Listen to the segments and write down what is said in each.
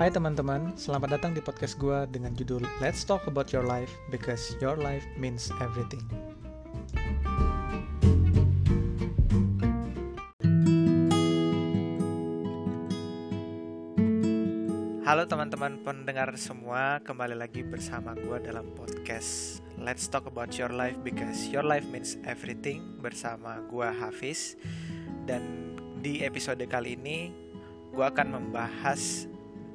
Hai teman-teman, selamat datang di podcast gue dengan judul Let's Talk About Your Life Because Your Life Means Everything. Halo teman-teman pendengar semua, kembali lagi bersama gue dalam podcast Let's Talk About Your Life Because Your Life Means Everything bersama gue Hafiz. Dan di episode kali ini gue akan membahas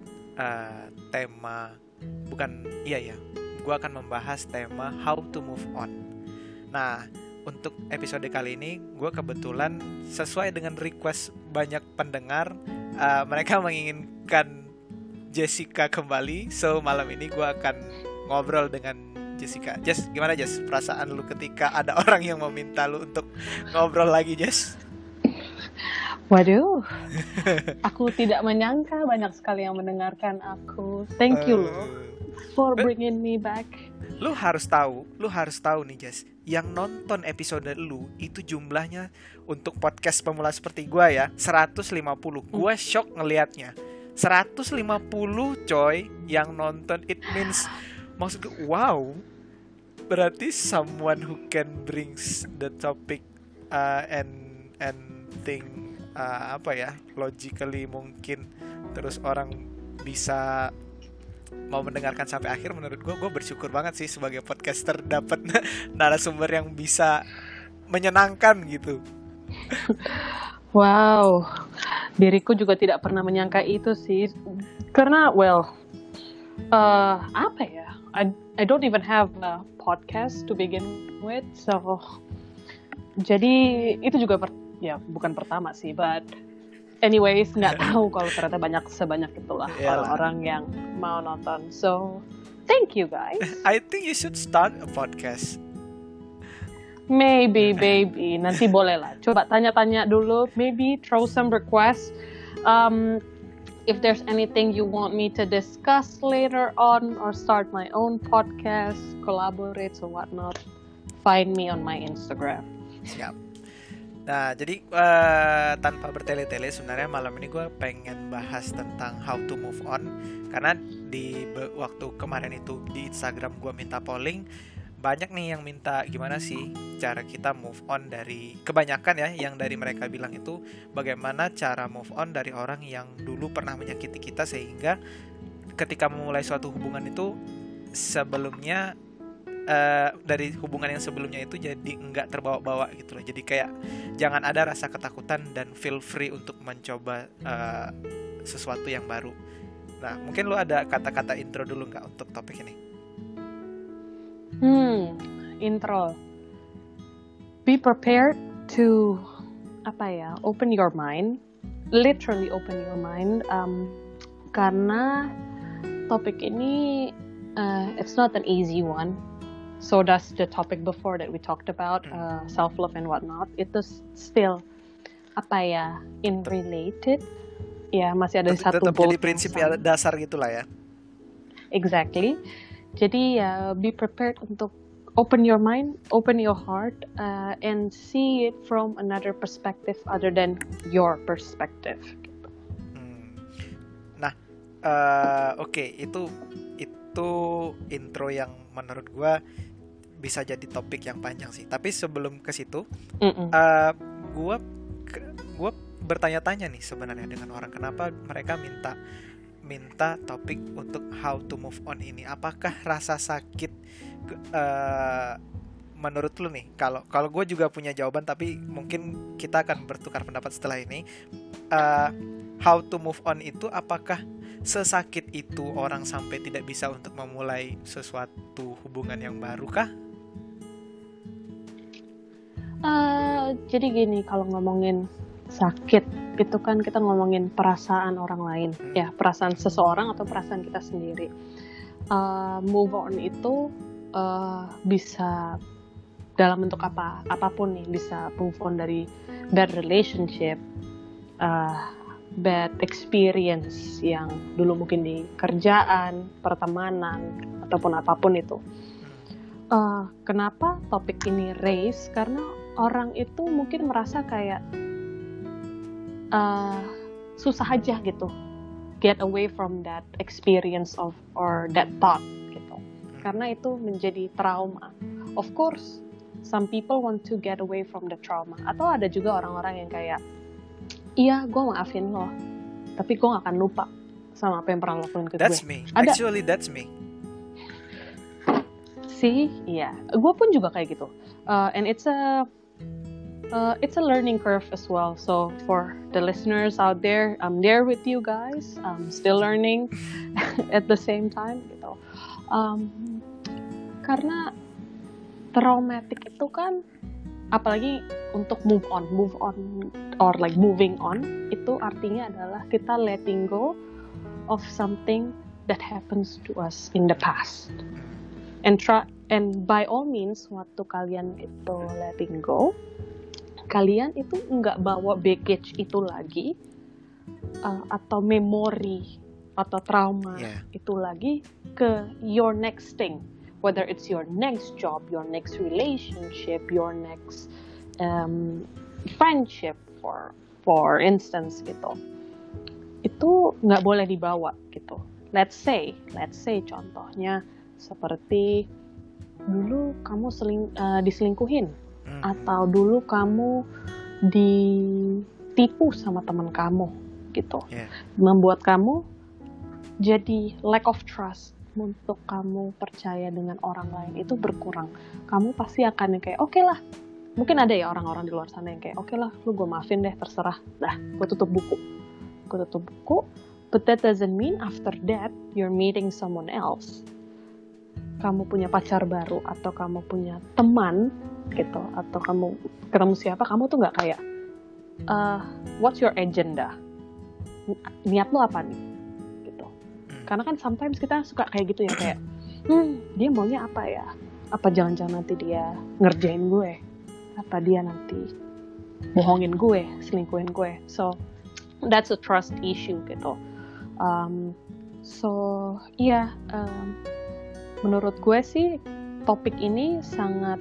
gue akan membahas tema How to Move On. Nah, untuk episode kali ini gue kebetulan sesuai dengan request banyak pendengar, mereka menginginkan Jessica kembali. So malam ini gue akan ngobrol dengan Jessica. Jess, gimana Jess? Perasaan lu ketika ada orang yang meminta lu untuk ngobrol lagi, Jess? Waduh, aku tidak menyangka banyak sekali yang mendengarkan aku. Thank you loh for bringing me back. Lu harus tahu nih Jess, yang nonton episode lu itu jumlahnya untuk podcast pemula seperti gua ya 150. Gua shock ngelihatnya 150 coy yang nonton. It means, maksud gue, wow, berarti someone who can brings the topic and think logically mungkin, terus orang bisa mau mendengarkan sampai akhir. Menurut gue bersyukur banget sih sebagai podcaster dapat narasumber yang bisa menyenangkan gitu. Wow, diriku juga tidak pernah menyangka itu sih, karena I don't even have a podcast to begin with, so jadi itu juga bukan pertama sih, but anyways, nggak tahu kalau ternyata sebanyak itulah orang yang mau nonton. So thank you guys. I think you should start a podcast. Maybe nanti boleh lah. Coba tanya-tanya dulu. Maybe throw some requests. If there's anything you want me to discuss later on or start my own podcast, collaborate or whatnot, find me on my Instagram. Siap. Nah, jadi tanpa bertele-tele, sebenarnya malam ini gue pengen bahas tentang how to move on. Karena di waktu kemarin itu di Instagram gue minta polling, banyak nih yang minta gimana sih cara kita move on dari, kebanyakan ya yang dari mereka bilang itu bagaimana cara move on dari orang yang dulu pernah menyakiti kita, sehingga ketika memulai suatu hubungan itu sebelumnya dari hubungan yang sebelumnya itu jadi enggak terbawa-bawa gitu loh. Jadi kayak jangan ada rasa ketakutan dan feel free untuk mencoba sesuatu yang baru. Nah, mungkin lu ada kata-kata intro dulu nggak untuk topik ini? Intro. Be prepared to open your mind, literally open your mind, karena topik ini it's not an easy one. So does the topic before that we talked about, self-love and whatnot. Itu still in related. Ya, masih ada satu tetap jadi prinsip dasar gitulah ya. Exactly. Jadi be prepared untuk open your mind, open your heart, and see it from another perspective other than your perspective. Nah, oke, itu intro yang menurut gue bisa jadi topik yang panjang sih. Tapi sebelum ke situ, gue bertanya-tanya nih sebenarnya dengan orang, kenapa mereka minta topik untuk how to move on ini. Apakah rasa sakit menurut lu nih? Kalau gue juga punya jawaban, tapi mungkin kita akan bertukar pendapat setelah ini. How to move on itu apakah sesakit itu orang sampai tidak bisa untuk memulai sesuatu hubungan yang baru kah? Jadi gini, kalau ngomongin sakit itu kan kita ngomongin perasaan orang lain, ya, perasaan seseorang atau perasaan kita sendiri. Move on itu bisa dalam bentuk apapun nih, bisa move on dari bad relationship, bad experience yang dulu mungkin di kerjaan, pertemanan, ataupun apapun itu. Kenapa topik ini raise? Karena orang itu mungkin merasa kayak susah aja gitu get away from that experience or that thought gitu. Karena itu menjadi trauma. Of course, some people want to get away from the trauma. Atau ada juga orang-orang yang kayak, iya, gue maafin lo, tapi gue gak akan lupa sama apa yang pernah lo lakuin ke gue. That's me. Actually, that's me. Sih, iya. Gue pun juga kayak gitu. And it's a learning curve as well. So for the listeners out there, I'm there with you guys. I'm still learning at the same time gitu. Karena traumatic itu kan, apalagi untuk move on or like moving on, itu artinya adalah kita letting go of something that happens to us in the past. And by all means, waktu kalian itu letting go, kalian itu nggak bawa baggage itu lagi, atau memori atau trauma itu lagi ke your next thing, whether it's your next job, your next relationship, your next friendship, for instance gitu. Itu nggak boleh dibawa gitu. Let's say contohnya seperti dulu kamu diselingkuhin, atau dulu kamu ditipu sama teman kamu gitu, membuat kamu jadi lack of trust untuk kamu percaya dengan orang lain itu berkurang. Kamu pasti akan yang kayak oke lah, mungkin ada ya orang-orang di luar sana yang kayak oke lah, lu gue maafin deh, terserah, dah gue tutup buku. But that doesn't mean after that you're meeting someone else. Kamu punya pacar baru, atau kamu punya teman gitu, atau kamu ketemu siapa, kamu tuh nggak kayak what's your agenda, niat lo apa nih gitu. Karena kan sometimes kita suka kayak gitu ya, kayak dia maunya apa ya, apa jangan-jangan nanti dia ngerjain gue, apa dia nanti bohongin gue, selingkuhin gue. So that's a trust issue gitu. Menurut gue sih topik ini sangat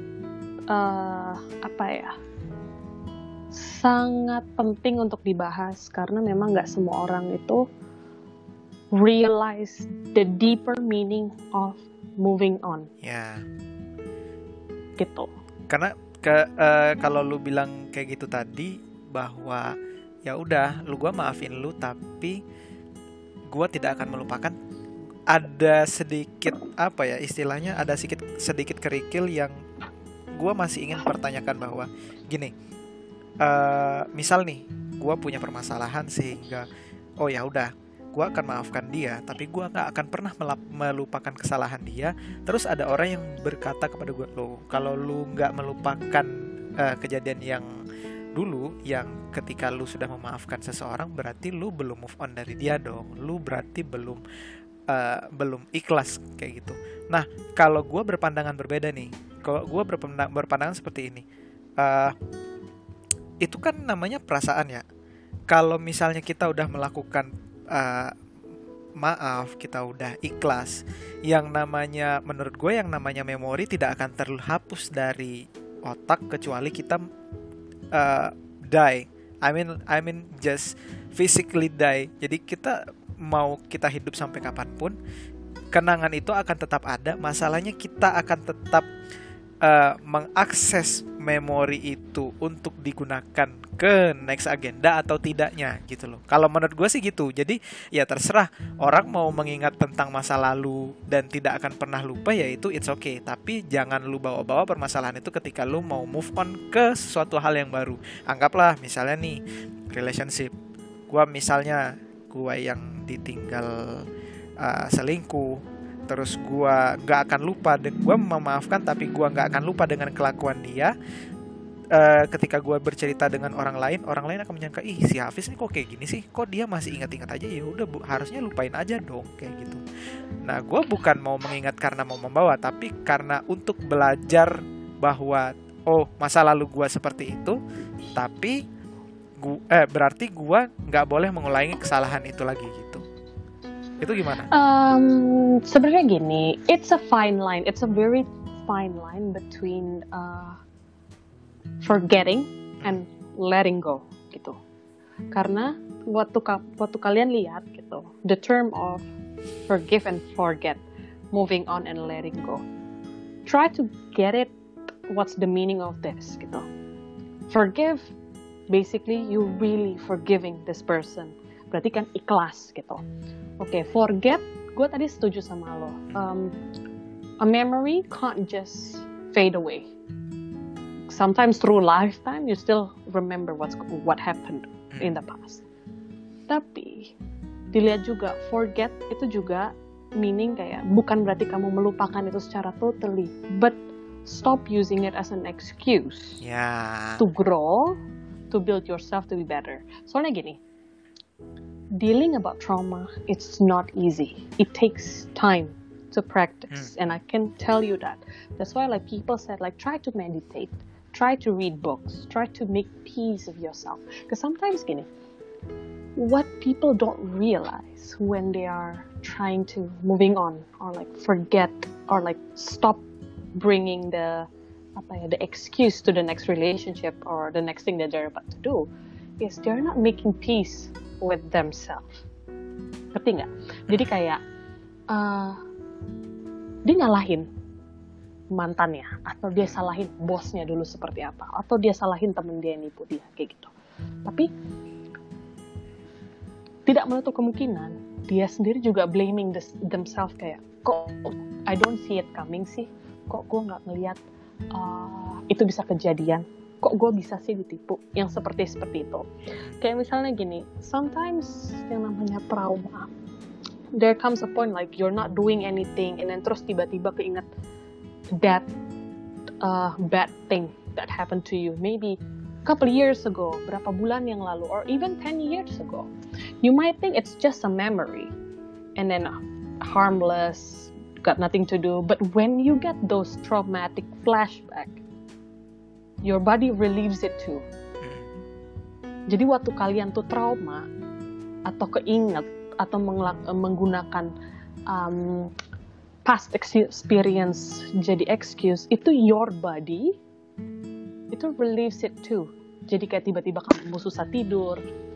sangat penting untuk dibahas, karena memang nggak semua orang itu realize the deeper meaning of moving on. Ya. Gitu. Karena kalau lu bilang kayak gitu tadi, bahwa ya udah, gua maafin lu, tapi gua tidak akan melupakan. Ada sedikit istilahnya ada sedikit kerikil yang gue masih ingin pertanyakan, bahwa gini, misal nih gue punya permasalahan sehingga ya udah, gue akan maafkan dia, tapi gue nggak akan pernah melupakan kesalahan dia. Terus ada orang yang berkata kepada gue, kalau lu nggak melupakan kejadian yang dulu, yang ketika lu sudah memaafkan seseorang, berarti lu belum move on dari dia dong, lu berarti belum ikhlas kayak gitu. Nah, kalau gue berpandangan berbeda nih, kalau gue berpandangan seperti ini, itu kan namanya perasaan ya. Kalau misalnya kita udah melakukan maaf, kita udah ikhlas, yang namanya, menurut gue yang namanya memori tidak akan terhapus dari otak kecuali kita die. I mean just physically die. Jadi mau kita hidup sampai kapanpun, kenangan itu akan tetap ada. Masalahnya kita akan tetap mengakses memori itu untuk digunakan ke next agenda atau tidaknya gitu loh. Kalau menurut gue sih gitu. Jadi ya terserah, orang mau mengingat tentang masa lalu dan tidak akan pernah lupa, ya itu it's okay. Tapi jangan lu bawa-bawa permasalahan itu ketika lu mau move on ke sesuatu hal yang baru. Anggaplah misalnya nih relationship, gue yang ditinggal selingkuh, terus gue nggak akan lupa, gue memaafkan tapi gue nggak akan lupa dengan kelakuan dia. Ketika gue bercerita dengan orang lain akan menyangka, ih si Hafiz nih kok kayak gini sih, kok dia masih ingat-ingat aja. Ya udah, harusnya lupain aja dong kayak gitu. Nah, gue bukan mau mengingat karena mau membawa, tapi karena untuk belajar bahwa masa lalu gue seperti itu, tapi berarti gue nggak boleh mengulangi kesalahan itu lagi gitu. Itu gimana? Sebenarnya gini, it's a fine line. It's a very fine line between forgetting and letting go gitu. Karena waktu kalian lihat gitu, the term of forgive and forget, moving on and letting go. Try to get it, what's the meaning of this gitu. Forgive, basically you really forgiving this person. Berarti kan ikhlas gitu. Oke, forget, gue tadi setuju sama lo. A memory can't just fade away. Sometimes through lifetime you still remember what happened in the past. Tapi dilihat juga, forget itu juga meaning kayak bukan berarti kamu melupakan itu secara totally, but stop using it as an excuse to grow, to build yourself to be better. Soalnya gini, dealing about trauma, it's not easy. It takes time to practice, and I can tell you that. That's why like people said like try to meditate, try to read books, try to make peace of yourself. Because sometimes gini, what people don't realize when they are trying to moving on or like forget or like stop bringing the excuse to the next relationship or the next thing that they're about to do is they're not making peace with themselves. Ngerti nggak? Jadi kayak dia nyalahin mantannya, atau dia salahin bosnya dulu seperti apa, atau dia salahin temen dia yang nipu dia kayak gitu. Tapi tidak menutup kemungkinan dia sendiri juga blaming themselves kayak kok I don't see it coming sih, kok gue nggak ngelihat itu bisa kejadian, kok gue bisa sih ditipu, yang seperti itu. Kayak misalnya gini, sometimes yang namanya trauma, there comes a point like you're not doing anything and then terus tiba-tiba keinget that bad thing that happened to you maybe a couple years ago, berapa bulan yang lalu, or even 10 years ago. You might think it's just a memory and then harmless, got nothing to do, but when you get those traumatic flashback, your body relieves it too. Jadi waktu kalian tuh trauma atau keinget atau menggunakan past experience jadi excuse, itu your body itu relieves it too. Jadi kayak tiba-tiba kamu susah tidur,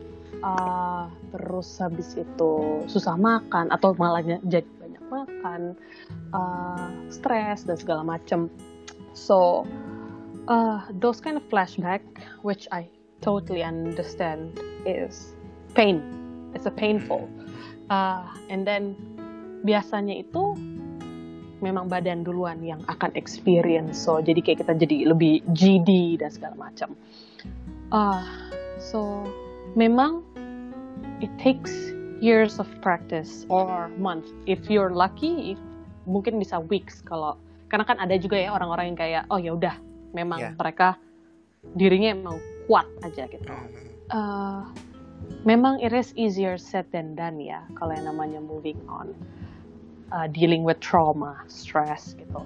terus habis itu susah makan atau malah jadi banyak makan, stres dan segala macam. So those kind of flashback, which I totally understand, is pain. It's a painful. And then biasanya itu memang badan duluan yang akan experience. So jadi kayak kita jadi lebih GD dan segala macam. So memang it takes years of practice or month. If you're lucky, mungkin bisa weeks kalau karena kan ada juga ya orang-orang yang kayak oh ya udah memang mereka dirinya emang kuat aja gitu. Memang it is easier said than done ya kalau yang namanya moving on. Dealing with trauma, stress gitu.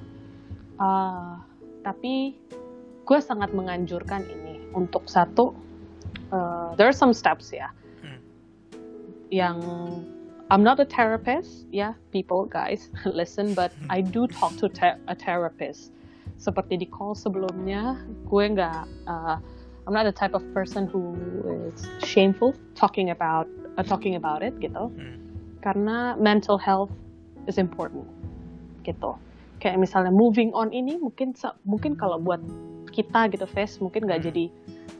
Tapi gue sangat menganjurkan ini untuk satu, there are some steps ya. Yang I'm not a therapist, people guys listen, but I do talk to a therapist. Seperti di call sebelumnya, gue nggak, I'm not the type of person who is shameful talking about it gitu. Karena mental health is important gitu. Kayak misalnya moving on ini mungkin kalau buat kita gitu Fes mungkin nggak jadi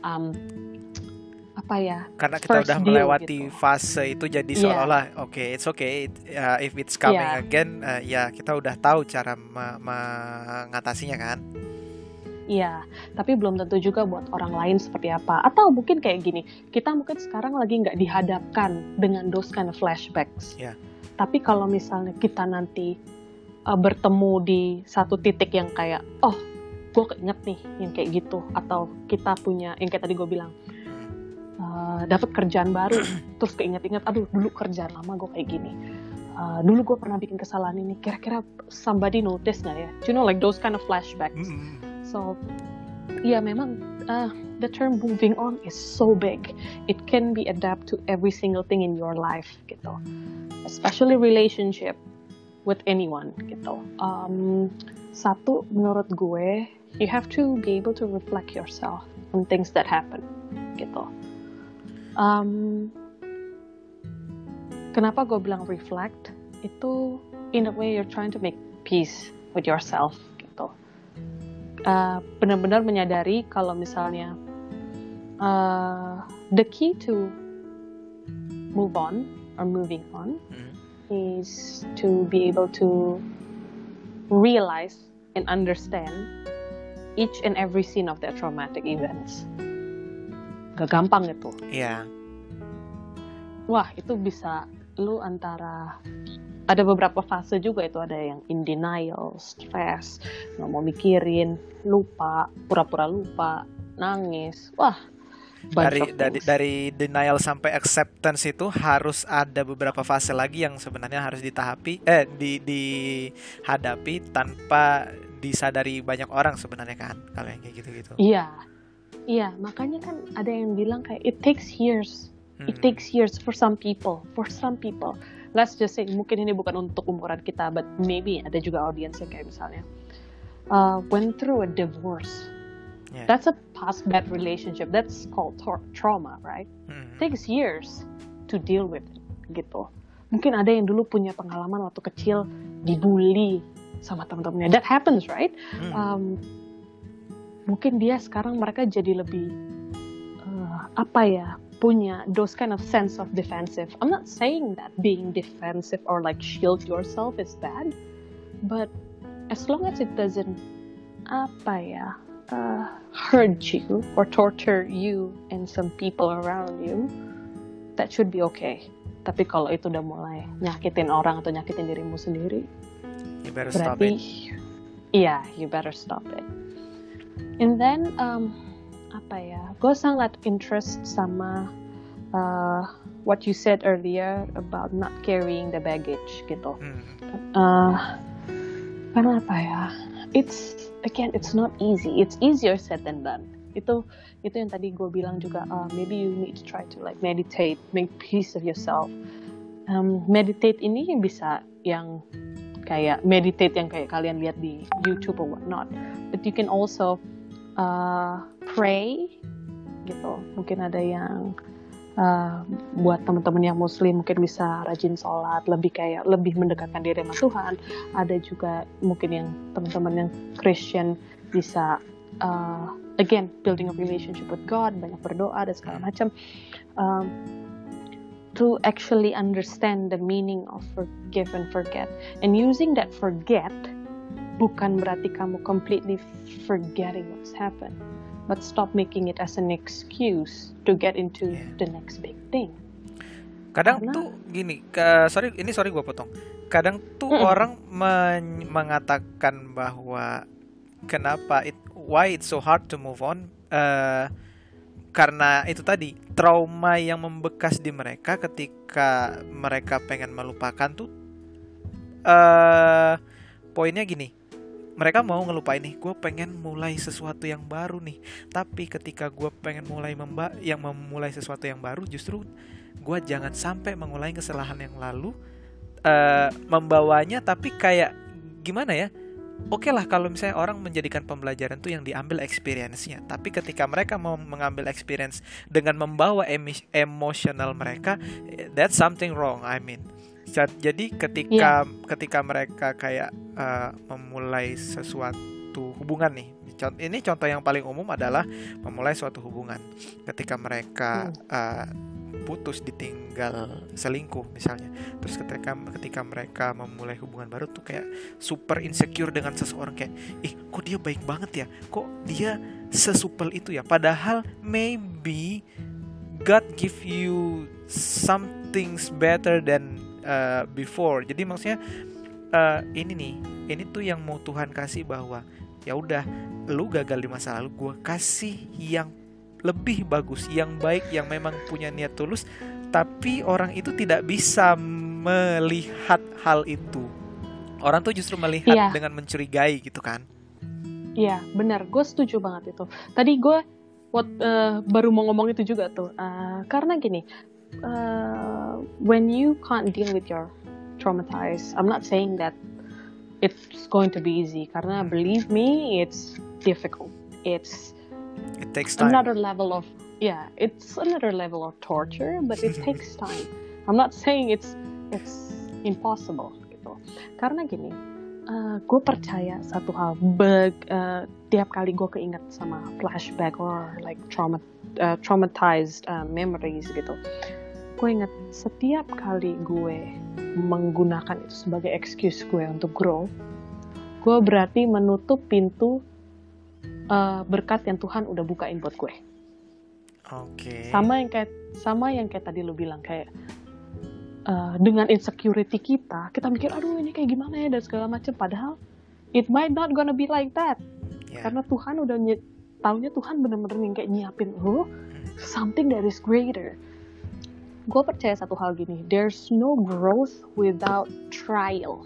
karena kita udah melewati gitu. Fase itu jadi seolah-olah it's okay if it's coming again, kita udah tahu cara mengatasinya kan. Iya, tapi belum tentu juga buat orang lain seperti apa. Atau mungkin kayak gini, kita mungkin sekarang lagi nggak dihadapkan dengan those kind of flashbacks. Tapi kalau misalnya kita nanti bertemu di satu titik yang kayak, oh, gue keinget nih yang kayak gitu, atau kita punya yang kayak tadi gue bilang, dapat kerjaan baru, terus keinget-inget, aduh dulu kerjaan lama gue kayak gini, dulu gue pernah bikin kesalahan ini, kira-kira somebody notice nggak ya? You know, like those kind of flashbacks. So, memang the term moving on is so big. It can be adapt to every single thing in your life gitu. Especially relationship with anyone gitu. Satu, menurut gue, you have to be able to reflect yourself on things that happen gitu. kenapa gue bilang reflect, itu in a way you're trying to make peace with yourself gitu. Benar-benar menyadari kalau misalnya the key to move on or moving on is to be able to realize and understand each and every scene of that traumatic events. Gak gampang itu. Iya. Wah, itu bisa lu antara ada beberapa fase juga itu, ada yang in denial, stress, nggak mau mikirin, lupa, pura-pura lupa, nangis. Wah, dari denial sampai acceptance itu harus ada beberapa fase lagi yang sebenarnya harus dihadapi tanpa disadari banyak orang sebenarnya kan, kalau yang kayak gitu-gitu. Iya, makanya kan ada yang bilang kayak it takes years. It takes years for some people. Let's just say, mungkin ini bukan untuk umuran kita, but maybe ada juga audiens yang kayak misalnya went through a divorce. Yeah. That's a past bad relationship. That's called trauma, right? Takes years to deal with it, gitu. Mungkin ada yang dulu punya pengalaman waktu kecil dibully sama teman-temannya. That happens, right? Mungkin mereka jadi lebih punya those kind of sense of defensive. I'm not saying that being defensive or like shield yourself is bad, but as long as it doesn't hurt you or torture you and some people around you, that should be okay. Tapi kalau itu udah mulai nyakitin orang atau nyakitin dirimu sendiri, you better stop it. Yeah, you better stop it. And then gue sangat interest sama what you said earlier about not carrying the baggage gitu. Karena it's not easy. It's easier said than done. Itu yang tadi gue bilang juga. Maybe you need to try to like meditate, make peace of yourself. Meditate ini bisa yang kayak meditate yang kayak kalian lihat di YouTube or whatnot. But you can also pray gitu. Mungkin ada yang buat teman-teman yang Muslim mungkin bisa rajin sholat, lebih mendekatkan diri sama Tuhan. Ada juga mungkin yang teman-teman yang Christian bisa again building a relationship with God, banyak berdoa dan segala macam. To actually understand the meaning of forgive and forget, and using that forget bukan berarti kamu completely forgetting what's happened, but stop making it as an excuse to get into the next big thing. Kadang tuh gini, sorry gue potong. Kadang tuh orang mengatakan bahwa why it's so hard to move on, karena itu tadi trauma yang membekas di mereka ketika mereka pengen melupakan tuh. Poinnya gini, mereka mau ngelupain nih, gue pengen mulai sesuatu yang baru nih. Tapi ketika gue pengen memulai sesuatu yang baru, justru gue jangan sampai mengulangi kesalahan yang lalu, membawanya. Tapi kayak gimana ya? Oke lah kalau misalnya orang menjadikan pembelajaran tuh yang diambil experience-nya. Tapi ketika mereka mau mengambil experience dengan membawa emosional mereka, that's something wrong. I mean, jadi ketika mereka kayak memulai sesuatu hubungan nih, ini contoh yang paling umum adalah memulai suatu hubungan. Ketika mereka putus, ditinggal selingkuh misalnya, terus ketika mereka memulai hubungan baru tuh kayak super insecure dengan seseorang, kayak kok dia baik banget ya, kok dia sesupel itu ya, padahal maybe God give you something better than before. Jadi maksudnya ini tuh yang mau Tuhan kasih, bahwa ya udah, lu gagal di masa lalu, gue kasih yang lebih bagus, yang baik, yang memang punya niat tulus. Tapi orang itu tidak bisa melihat hal itu. Orang tuh justru melihat dengan mencurigai gitu kan. Iya, benar, gue setuju banget itu. Tadi gue baru mau ngomong itu juga tuh, karena gini, when you can't deal with your traumatized, I'm not saying that it's going to be easy, karena believe me, it's difficult. It takes time. Another level of torture, but it takes time. I'm not saying it's it's impossible gitu. Karena gini, gue percaya satu hal, tiap kali gue keinget sama flashback or like traumatized memories gitu, gue inget setiap kali gue menggunakan itu sebagai excuse gue untuk grow, gue berarti menutup pintu berkat yang Tuhan udah bukain buat gue. Oke. Sama yang kayak tadi lu bilang, kayak dengan insecurity kita mikir aduh ini kayak gimana ya dan segala macam, padahal it might not gonna be like that. Karena Tuhan udah taunya Tuhan bener-bener yang kayak nyiapin something that is greater. Gue percaya satu hal gini, there's no growth without trial.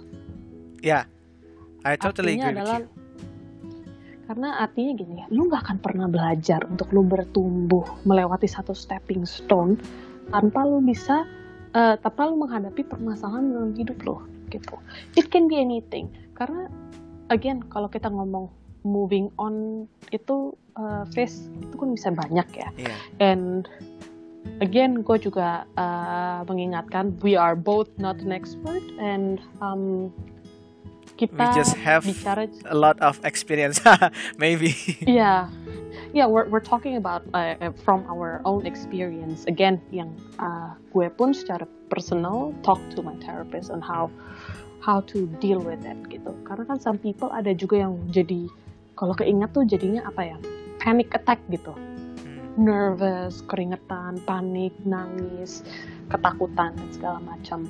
I totally agree with you. Karena artinya gini, lu gak akan pernah belajar untuk lu bertumbuh melewati satu stepping stone tanpa lu menghadapi permasalahan dalam hidup lo gitu. It can be anything. Karena again, kalau kita ngomong moving on itu phase itu kan bisa banyak ya. And again, gue juga mengingatkan, we are both not an expert and kita we just have bicara a lot of experience, maybe. We're talking about from our own experience. Again, yang gue pun secara personal talk to my therapist on how to deal with it gitu. Karena kan some people ada juga yang jadi kalau keingat tuh jadinya panic attack gitu. Nervous, keringetan, panik, nangis, ketakutan dan segala macam.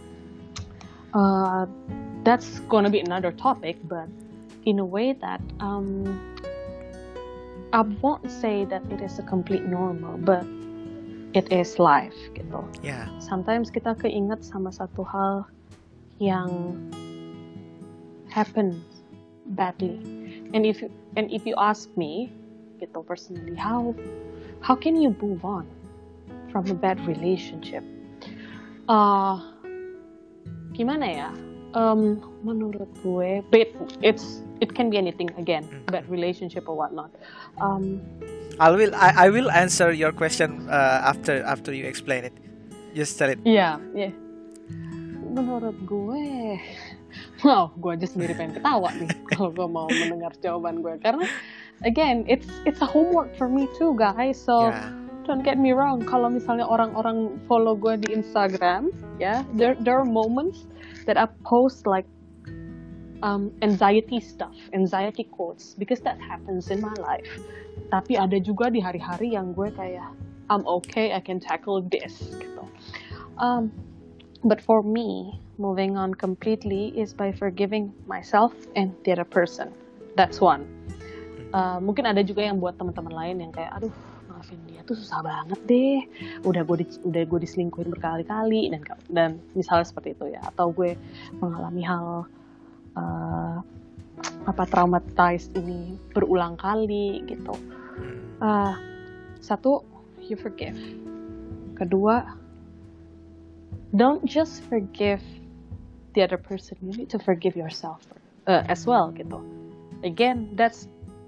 That's gonna be another topic, but in a way that I won't say that it is a complete normal, but it is life gitu. Sometimes kita keinget sama satu hal yang happen badly, and if you ask me gitu personally, how can you move on from a bad relationship? Gimana ya? Menurut gue, it can be anything again, bad relationship or whatnot. I will answer your question after you explain it. Just tell it. Yeah. Menurut gue, wow, gue aja sendiri pengen ketawa nih kalau gue mau mendengar jawaban gue, karena again, it's a homework for me too, guys. So don't get me wrong, kalau misalnya orang-orang follow gue di Instagram, there are moments that I post like anxiety quotes, because that happens in my life. Tapi ada juga di hari-hari yang gue kayak I'm okay, I can tackle this gitu. But for me, moving on completely is by forgiving myself and the other person. That's one. Mungkin ada juga yang buat teman-teman lain yang kayak aduh, maafin dia tuh susah banget deh, udah gue diselingkuhin berkali-kali dan misalnya seperti itu ya, atau gue mengalami hal traumatized ini berulang kali gitu. Satu, you forgive. Kedua, don't just forgive the other person, you need to forgive yourself as well gitu. Again, that's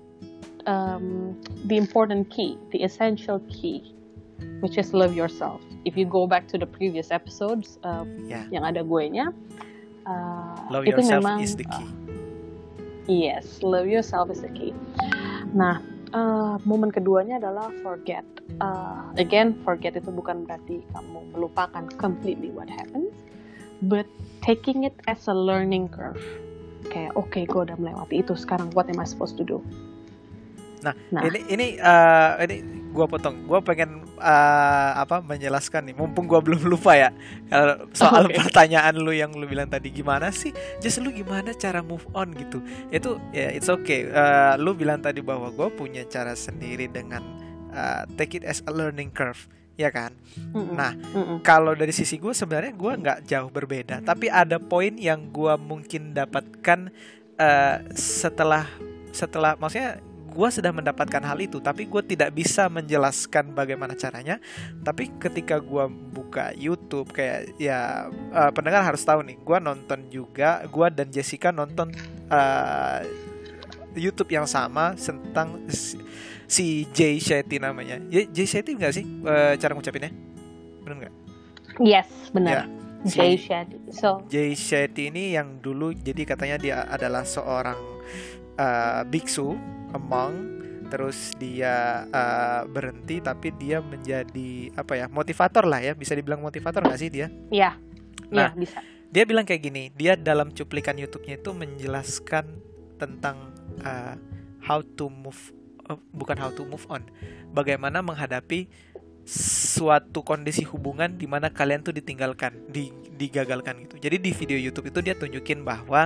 the important key, the essential key, which is love yourself. If you go back to the previous episodes yang ada gue-nya, love itu yourself memang, is the key. Yes, love yourself is the key. Nah, momen keduanya adalah forget. Again, forget itu bukan berarti kamu melupakan completely what happened, but taking it as a learning curve. Kayak, okay, gue udah melewati itu, sekarang what am I supposed to do? Nah. Ini gue potong. Gue pengen menjelaskan nih, mumpung gue belum lupa ya, soal pertanyaan lu yang lu bilang tadi, gimana sih, just lu gimana cara move on gitu. Itu ya it's okay. Lu bilang tadi bahwa gue punya cara sendiri dengan take it as a learning curve, ya kan? Nah, kalau dari sisi gue sebenarnya gue nggak jauh berbeda, tapi ada poin yang gue mungkin dapatkan setelah maksudnya gue sudah mendapatkan hal itu, tapi gue tidak bisa menjelaskan bagaimana caranya. Tapi ketika gue buka YouTube, kayak ya pendengar harus tahu nih, gue nonton juga, gue dan Jessica nonton YouTube yang sama tentang si Jay Shetty namanya. Jay Shetty nggak sih cara ngucapinnya? Benar nggak? Yes, benar. Ya. Jay Si Shetty. So, Jay Shetty ini yang dulu jadi katanya dia adalah seorang biksu, a monk, terus dia berhenti tapi dia menjadi apa ya, motivator lah ya, bisa dibilang motivator nggak sih dia? ya, Nah, bisa. dia bilang kayak gini, dia dalam cuplikan YouTube-nya itu menjelaskan tentang how to move, bukan how to move on, bagaimana menghadapi suatu kondisi hubungan di mana kalian tuh ditinggalkan, digagalkan gitu. Jadi di video YouTube itu dia tunjukin bahwa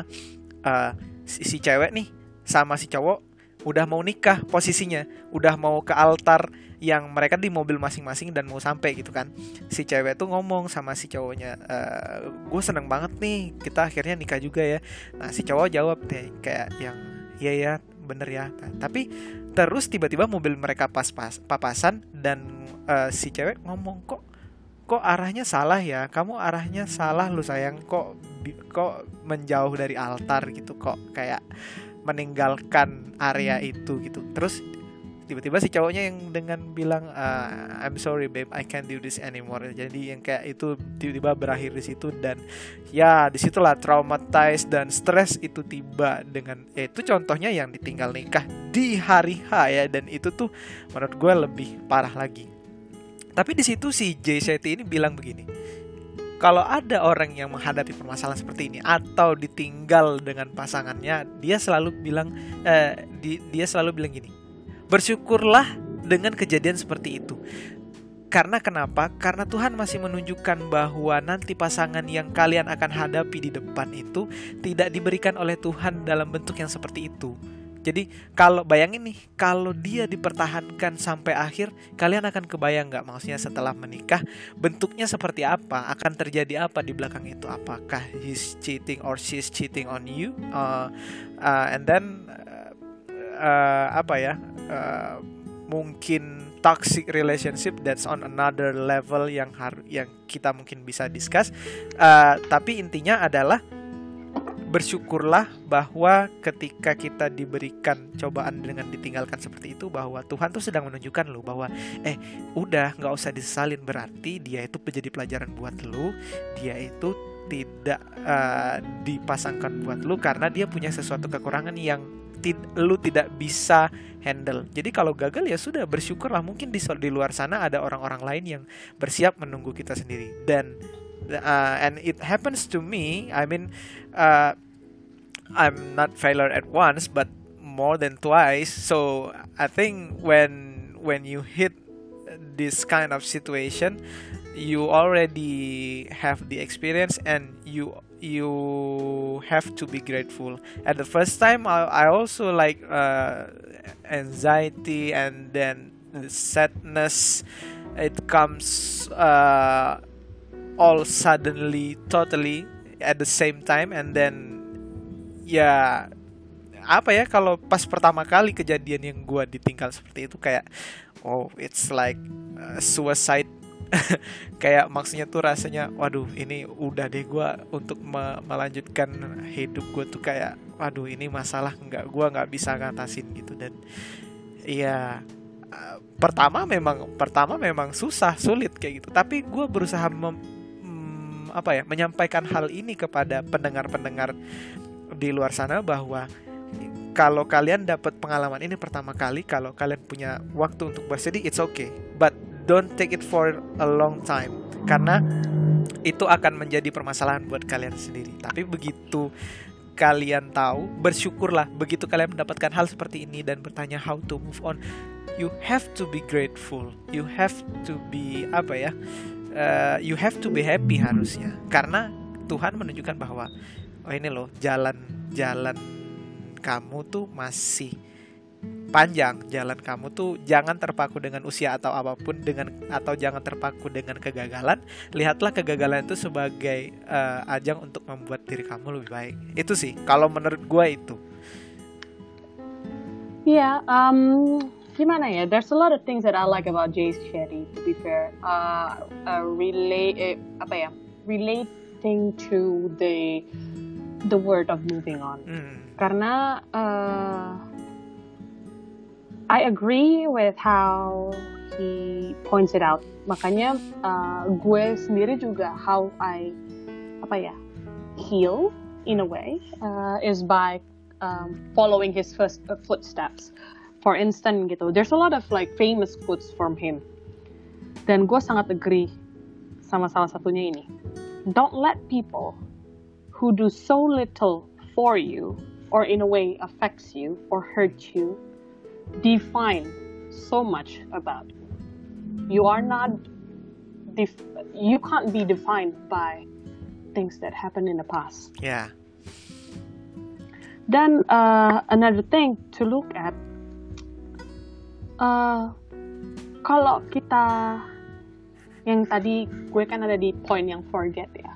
si cewek nih sama si cowok udah mau nikah posisinya, udah mau ke altar yang mereka di mobil masing-masing dan mau sampai gitu kan. Si cewek tuh ngomong sama si cowoknya, gue seneng banget nih kita akhirnya nikah juga ya. Nah si cowok jawab deh kayak yang iya ya bener ya. Tapi terus tiba-tiba mobil mereka papasan dan si cewek ngomong kok arahnya salah ya, kamu arahnya salah lu sayang, kok menjauh dari altar gitu, kok kayak meninggalkan area itu gitu. Terus tiba-tiba si cowoknya yang dengan bilang I'm sorry babe, I can't do this anymore. Jadi yang kayak itu tiba-tiba berakhir di situ, dan ya disitulah traumatized dan stres itu tiba dengan itu contohnya yang ditinggal nikah di hari H ya, dan itu tuh menurut gue lebih parah lagi. Tapi di situ si Jay Shetty ini bilang begini, kalau ada orang yang menghadapi permasalahan seperti ini atau ditinggal dengan pasangannya, dia selalu bilang gini, bersyukurlah dengan kejadian seperti itu. Karena kenapa? Karena Tuhan masih menunjukkan bahwa nanti pasangan yang kalian akan hadapi di depan itu tidak diberikan oleh Tuhan dalam bentuk yang seperti itu. Jadi kalau bayangin nih, kalau dia dipertahankan sampai akhir, kalian akan kebayang nggak, maksudnya setelah menikah bentuknya seperti apa, akan terjadi apa di belakang itu? Apakah he's cheating or she's cheating on you, and then mungkin toxic relationship, that's on another level yang kita mungkin bisa discuss. Tapi intinya adalah bersyukurlah bahwa ketika kita diberikan cobaan dengan ditinggalkan seperti itu, bahwa Tuhan tuh sedang menunjukkan lu bahwa udah nggak usah disesalin, berarti dia itu menjadi pelajaran buat lu, dia itu tidak dipasangkan buat lu karena dia punya sesuatu kekurangan yang lu tidak bisa handle. Jadi kalau gagal ya sudah, bersyukurlah, mungkin di luar sana ada orang-orang lain yang bersiap menunggu kita sendiri. Dan and it happens to me. I mean, I'm not failure at once, but more than twice. So I think when you hit this kind of situation, you already have the experience and you have to be grateful. At the first time, I also like anxiety and then sadness. It comes all suddenly, totally at the same time, and then ya apa ya, kalau pas pertama kali kejadian yang gue ditinggal seperti itu kayak it's like suicide. Kayak maksudnya tuh rasanya waduh, ini udah deh gue untuk melanjutkan hidup gue tuh kayak waduh, ini masalah gue nggak bisa ngatasin gitu. Dan ya pertama memang sulit kayak gitu, tapi gue berusaha menyampaikan hal ini kepada pendengar-pendengar di luar sana bahwa kalau kalian dapat pengalaman ini pertama kali, kalau kalian punya waktu untuk bersedih, it's okay, but don't take it for a long time, karena itu akan menjadi permasalahan buat kalian sendiri. Tapi begitu kalian tahu, bersyukurlah. Begitu kalian mendapatkan hal seperti ini dan bertanya how to move on, you have to be grateful, you have to be you have to be happy harusnya, karena Tuhan menunjukkan bahwa ini loh, jalan kamu tuh masih panjang. Jalan kamu tuh jangan terpaku dengan usia atau apapun, atau jangan terpaku dengan kegagalan. Lihatlah kegagalan itu sebagai ajang untuk membuat diri kamu lebih baik. Itu sih kalau menurut gue itu. Yeah, gimana ya? There's a lot of things that I like about Jay Shetty, to be fair. Relating to the word of moving on. Karena I agree with how he points it out. Makanya gue sendiri juga how I heal in a way is by following his first footsteps. For instance gitu, there's a lot of like famous quotes from him. Dan gue sangat agree sama salah satunya ini. Don't let people who do so little for you or in a way affects you or hurts you define so much about you. You can't be defined by things that happened in the past. Yeah. Dan another thing to look at, kalau kita yang tadi gue kan ada di point yang forget ya.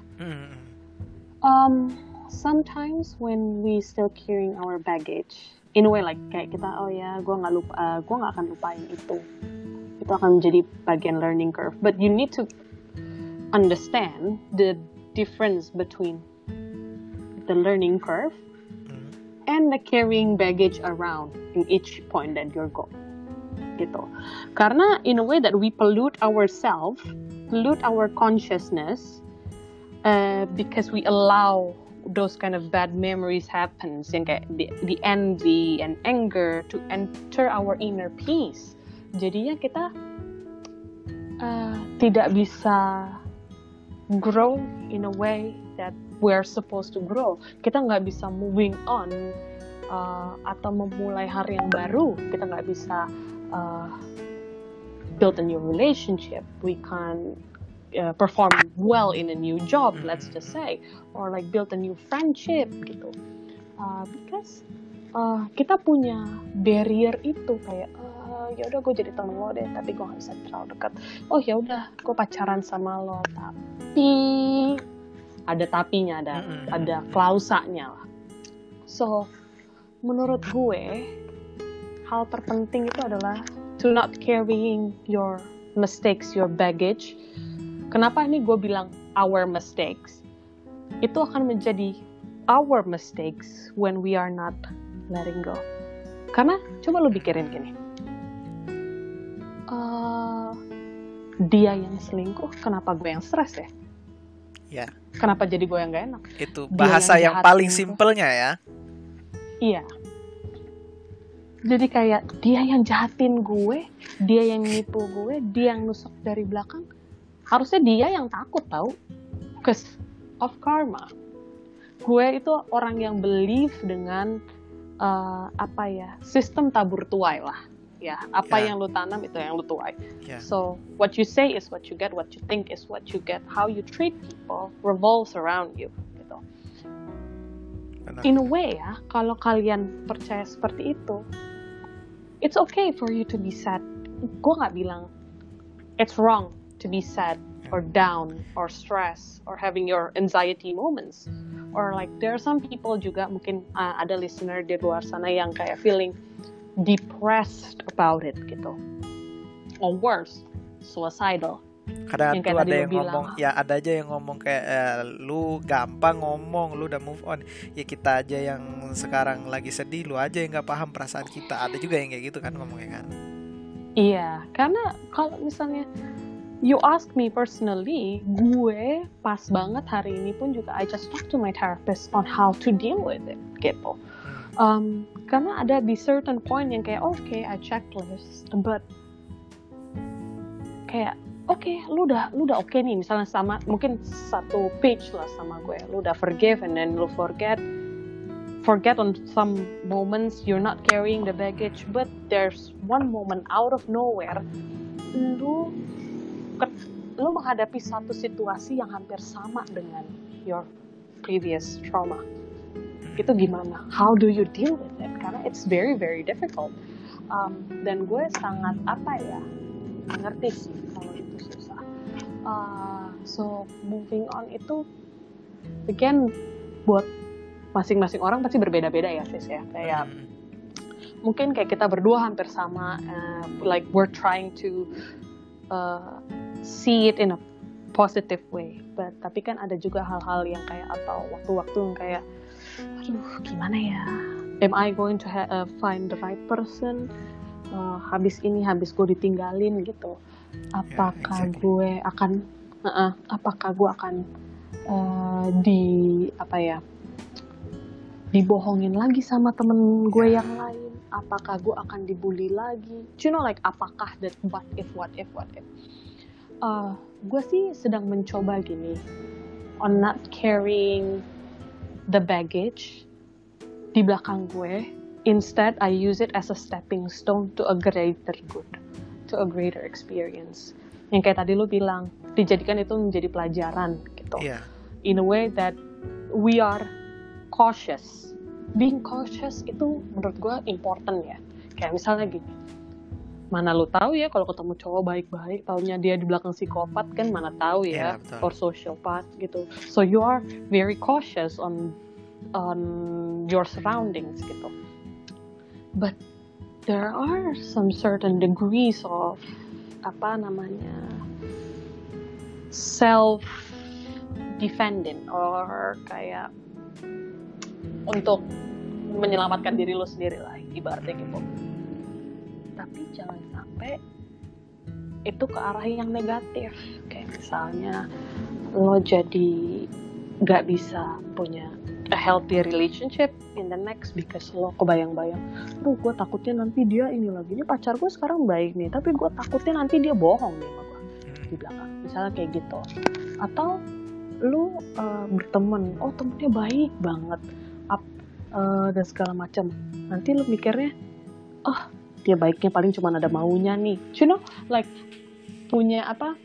Sometimes when we still carrying our baggage, in a way like kayak kita gue nggak akan lupain itu akan menjadi bagian learning curve. But you need to understand the difference between the learning curve and the carrying baggage around in each point that you're going. Gitu. Karena in a way that we pollute ourselves, pollute our consciousness, because we allow those kind of bad memories happens, yang kayak the envy and anger to enter our inner peace. Jadinya kita tidak bisa grow in a way that we're supposed to grow. Kita nggak bisa moving on atau memulai hari yang baru. Kita nggak bisa build a new relationship. We can't perform well in a new job, let's just say, or like build a new friendship gitu. Because kita punya barrier itu kayak ya udah gue jadi temen lo deh, tapi gue nggak bisa terlalu dekat. Oh ya udah, gue pacaran sama lo, tapi ada tapinya, ada klausanya lah. So menurut gue hal terpenting itu adalah to not carrying your mistakes, your baggage. Kenapa ini gue bilang our mistakes? Itu akan menjadi our mistakes when we are not letting go. Karena coba lu pikirin gini. Dia yang selingkuh, kenapa gue yang stres ya? Ya. Kenapa jadi gue yang gak enak? Itu bahasa yang paling simpelnya ya. Iya. Jadi kayak dia yang jahatin gue, dia yang nipu gue, dia yang nusuk dari belakang. Harusnya dia yang takut tau, because of karma. Gue itu orang yang believe dengan sistem tabur tuai lah. Ya, yang lu tanam itu yang lu tuai. Yeah. So what you say is what you get, what you think is what you get. How you treat people revolves around you. Gitu. Benar. In a way ya, kalau kalian percaya seperti itu, it's okay for you to be sad. Gue nggak bilang it's wrong to be sad or down or stressed or having your anxiety moments. Or like there are some people juga mungkin ada listener di luar sana yang kayak feeling depressed about it gitu. Or worse, suicidal. Kadang tuh ada yang ngomong, ya ada aja yang ngomong kayak lu gampang ngomong, lu udah move on. Ya kita aja yang sekarang lagi sedih, lu aja yang gak paham perasaan kita. Ada juga yang kayak gitu kan ngomongnya kan. Iya, karena kalau misalnya you ask me personally, gue pas banget hari ini pun juga I just talk to my therapist on how to deal with it gitu. Karena ada di certain point yang kayak okay, I checklist, but kayak okay, lu udah okay nih, misalnya sama mungkin satu page lah sama gue, lu udah forgive and then lu forget on some moments you're not carrying the baggage, but there's one moment out of nowhere lu menghadapi satu situasi yang hampir sama dengan your previous trauma. Itu gimana? How do you deal with it? Karena it's very very difficult. Dan gue sangat ngerti sih kalau itu susah. So moving on itu again buat masing-masing orang pasti berbeda-beda ya sis ya. Kayak mungkin kayak kita berdua hampir sama, like we're trying to see it in a positive way. But tapi kan ada juga hal-hal yang kayak atau waktu-waktu yang kayak aduh gimana ya, am I going to find the right person, habis gue ditinggalin gitu, apakah gue akan di apa ya, dibohongin lagi sama temen gue yang lain, apakah gue akan dibully lagi, like apakah that what if gue sih sedang mencoba gini on not carrying the baggage di belakang gue. Instead I use it as a stepping stone to a greater good, to a greater experience, yang kayak tadi lu bilang, dijadikan itu menjadi pelajaran gitu. In a way that we are cautious. Being cautious itu menurut gue important ya. Kayak misalnya gini, mana lu tahu ya kalau ketemu cowok baik-baik, taunya dia di belakang psikopat kan, mana tahu ya, or sociopath gitu. So you are very cautious on your surroundings gitu. But there are some certain degrees of self defending, or kayak untuk menyelamatkan diri lo sendiri lah, ibaratnya gitu. Tapi jangan sampai itu ke arah yang negatif. Kayak misalnya lo jadi gak bisa punya a healthy relationship in the next because lo kebayang-bayang, gue takutnya nanti dia ini lagi, ini pacar gue sekarang baik nih, tapi gue takutnya nanti dia bohong nih sama gue di belakang, misalnya kayak gitu. Atau lo berteman, temennya baik banget, dan segala macam, nanti lo mikirnya, dia baiknya paling cuma ada maunya nih, like punya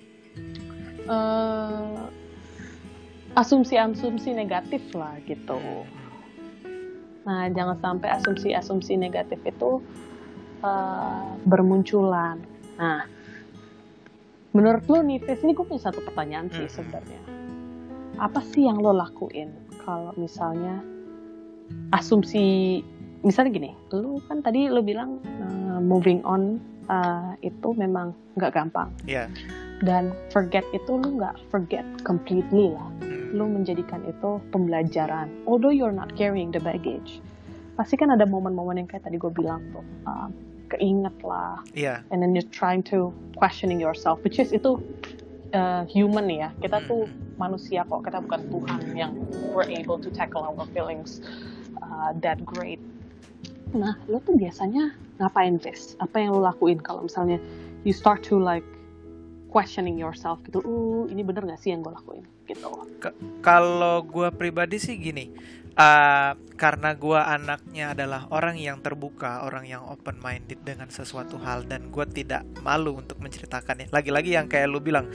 asumsi-asumsi negatif lah gitu. Nah, jangan sampai asumsi-asumsi negatif itu bermunculan. Nah, menurut lo nih, Fes, ini gue punya satu pertanyaan sih sebenarnya. Apa sih yang lo lakuin kalau misalnya asumsi, misalnya gini, lo kan tadi lo bilang moving on itu memang nggak gampang. Dan forget itu lo nggak forget completely lah. Lo menjadikan itu pembelajaran. Although you're not carrying the baggage, pasti kan ada momen-momen yang kayak tadi gue bilang tuh, keinget lah. And then you're trying to questioning yourself, which is itu human ya. Kita tuh manusia kok, kita bukan Tuhan yang we're able to tackle our feelings that great. Nah, lo tuh biasanya ngapain, Ves? Apa yang lo lakuin kalau misalnya you start to like questioning yourself gitu, ini bener gak sih yang gue lakuin gitu? Kalau gue pribadi sih gini, karena gue anaknya adalah orang yang terbuka, orang yang open minded dengan sesuatu hal, dan gue tidak malu untuk menceritakannya. Lagi-lagi yang kayak lu bilang,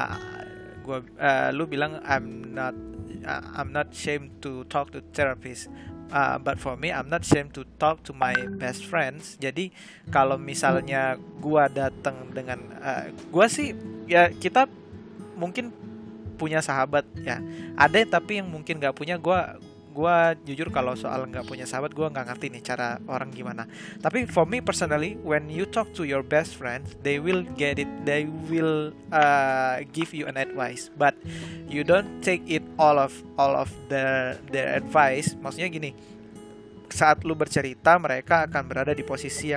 lu bilang I'm not ashamed to talk to therapist. But for me, I'm not ashamed to talk to my best friends. Jadi kalau misalnya gue datang dengan, gue sih ya, kita mungkin punya sahabat ya. Ada tapi yang mungkin nggak punya. Gue jujur kalau soal nggak punya sahabat, gue nggak ngerti nih cara orang gimana. Tapi for me personally, when you talk to your best friends, they will get it. They will give you an advice, but you don't take it all of their advice. Maksudnya gini, saat lu bercerita, mereka akan berada di posisi yang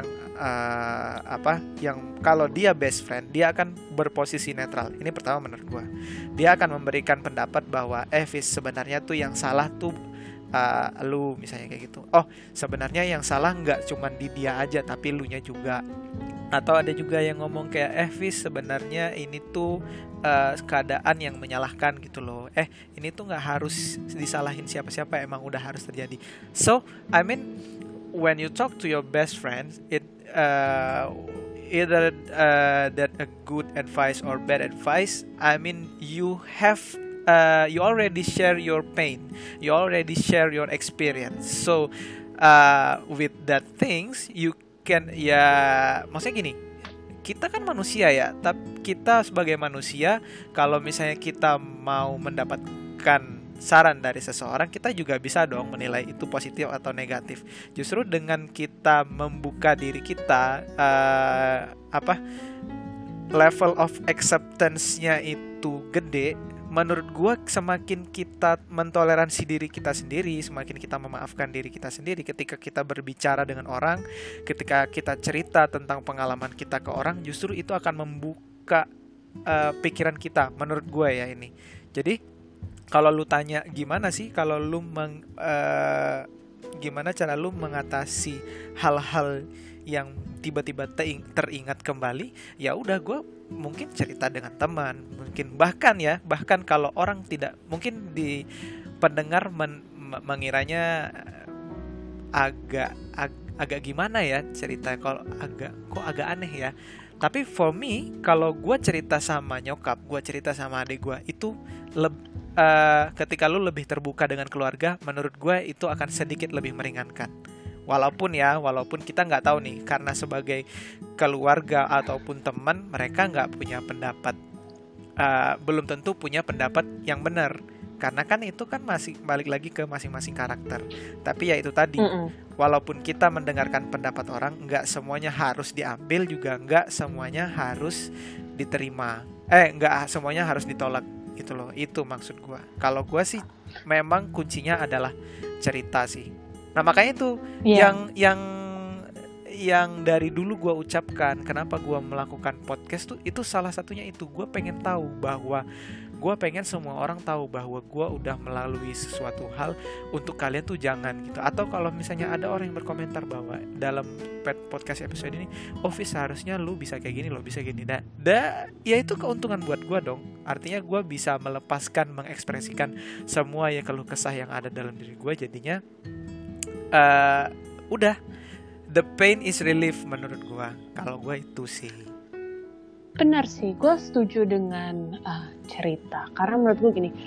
yang kalau dia best friend, dia akan berposisi netral. Ini pertama menurut gue. Dia akan memberikan pendapat bahwa Fis, sebenarnya tuh yang salah tuh lu, misalnya kayak gitu. Sebenarnya yang salah nggak cuman di dia aja, tapi lu nya juga. Atau ada juga yang ngomong kayak, Fis, sebenarnya ini tuh keadaan yang menyalahkan gitu loh. Ini tuh nggak harus disalahin siapa-siapa, emang udah harus terjadi. So I mean, when you talk to your best friends, it either that a good advice or bad advice, I mean, you have you already share your pain, you already share your experience. So with that things you can, ya maksudnya gini, kita kan manusia ya, tapi kita sebagai manusia, kalau misalnya kita mau mendapatkan saran dari seseorang, kita juga bisa dong menilai itu positif atau negatif. Justru dengan kita membuka diri kita, level of acceptance-nya itu gede. Menurut gue, semakin kita mentoleransi diri kita sendiri, semakin kita memaafkan diri kita sendiri ketika kita berbicara dengan orang, ketika kita cerita tentang pengalaman kita ke orang, justru itu akan membuka pikiran kita, menurut gue ya ini. Jadi kalau lu tanya gimana sih kalau lu gimana cara lu mengatasi hal-hal yang tiba-tiba teringat kembali, ya udah gue mungkin cerita dengan teman, mungkin bahkan kalau orang tidak, mungkin di pendengar mengiranya agak gimana ya cerita, kalau agak aneh ya. Tapi for me, kalau gue cerita sama nyokap, gue cerita sama adik gue, itu ketika lu lebih terbuka dengan keluarga, menurut gue itu akan sedikit lebih meringankan. Walaupun kita nggak tahu nih, karena sebagai keluarga ataupun teman, mereka nggak punya pendapat, belum tentu punya pendapat yang benar. Karena kan itu kan masih balik lagi ke masing-masing karakter. Tapi ya itu tadi, walaupun kita mendengarkan pendapat orang, nggak semuanya harus diambil, juga nggak semuanya harus diterima. Nggak semuanya harus ditolak gitu loh. Itu maksud gue. Kalau gue sih memang kuncinya adalah cerita sih. Nah makanya itu yang dari dulu gue ucapkan, kenapa gue melakukan podcast tuh, itu salah satunya itu. Gue pengen tahu bahwa gue pengen semua orang tahu bahwa gue udah melalui sesuatu hal. Untuk kalian tuh jangan gitu. Atau kalau misalnya ada orang yang berkomentar bahwa dalam podcast episode ini, Fis seharusnya lu bisa kayak gini, lo bisa gini. Ya itu keuntungan buat gue dong. Artinya gue bisa melepaskan, mengekspresikan semua ya keluh kesah yang ada dalam diri gue. Jadinya udah, the pain is relief menurut gue. Kalau gue itu sih. Benar sih, gue setuju dengan cerita. Karena menurut gue gini,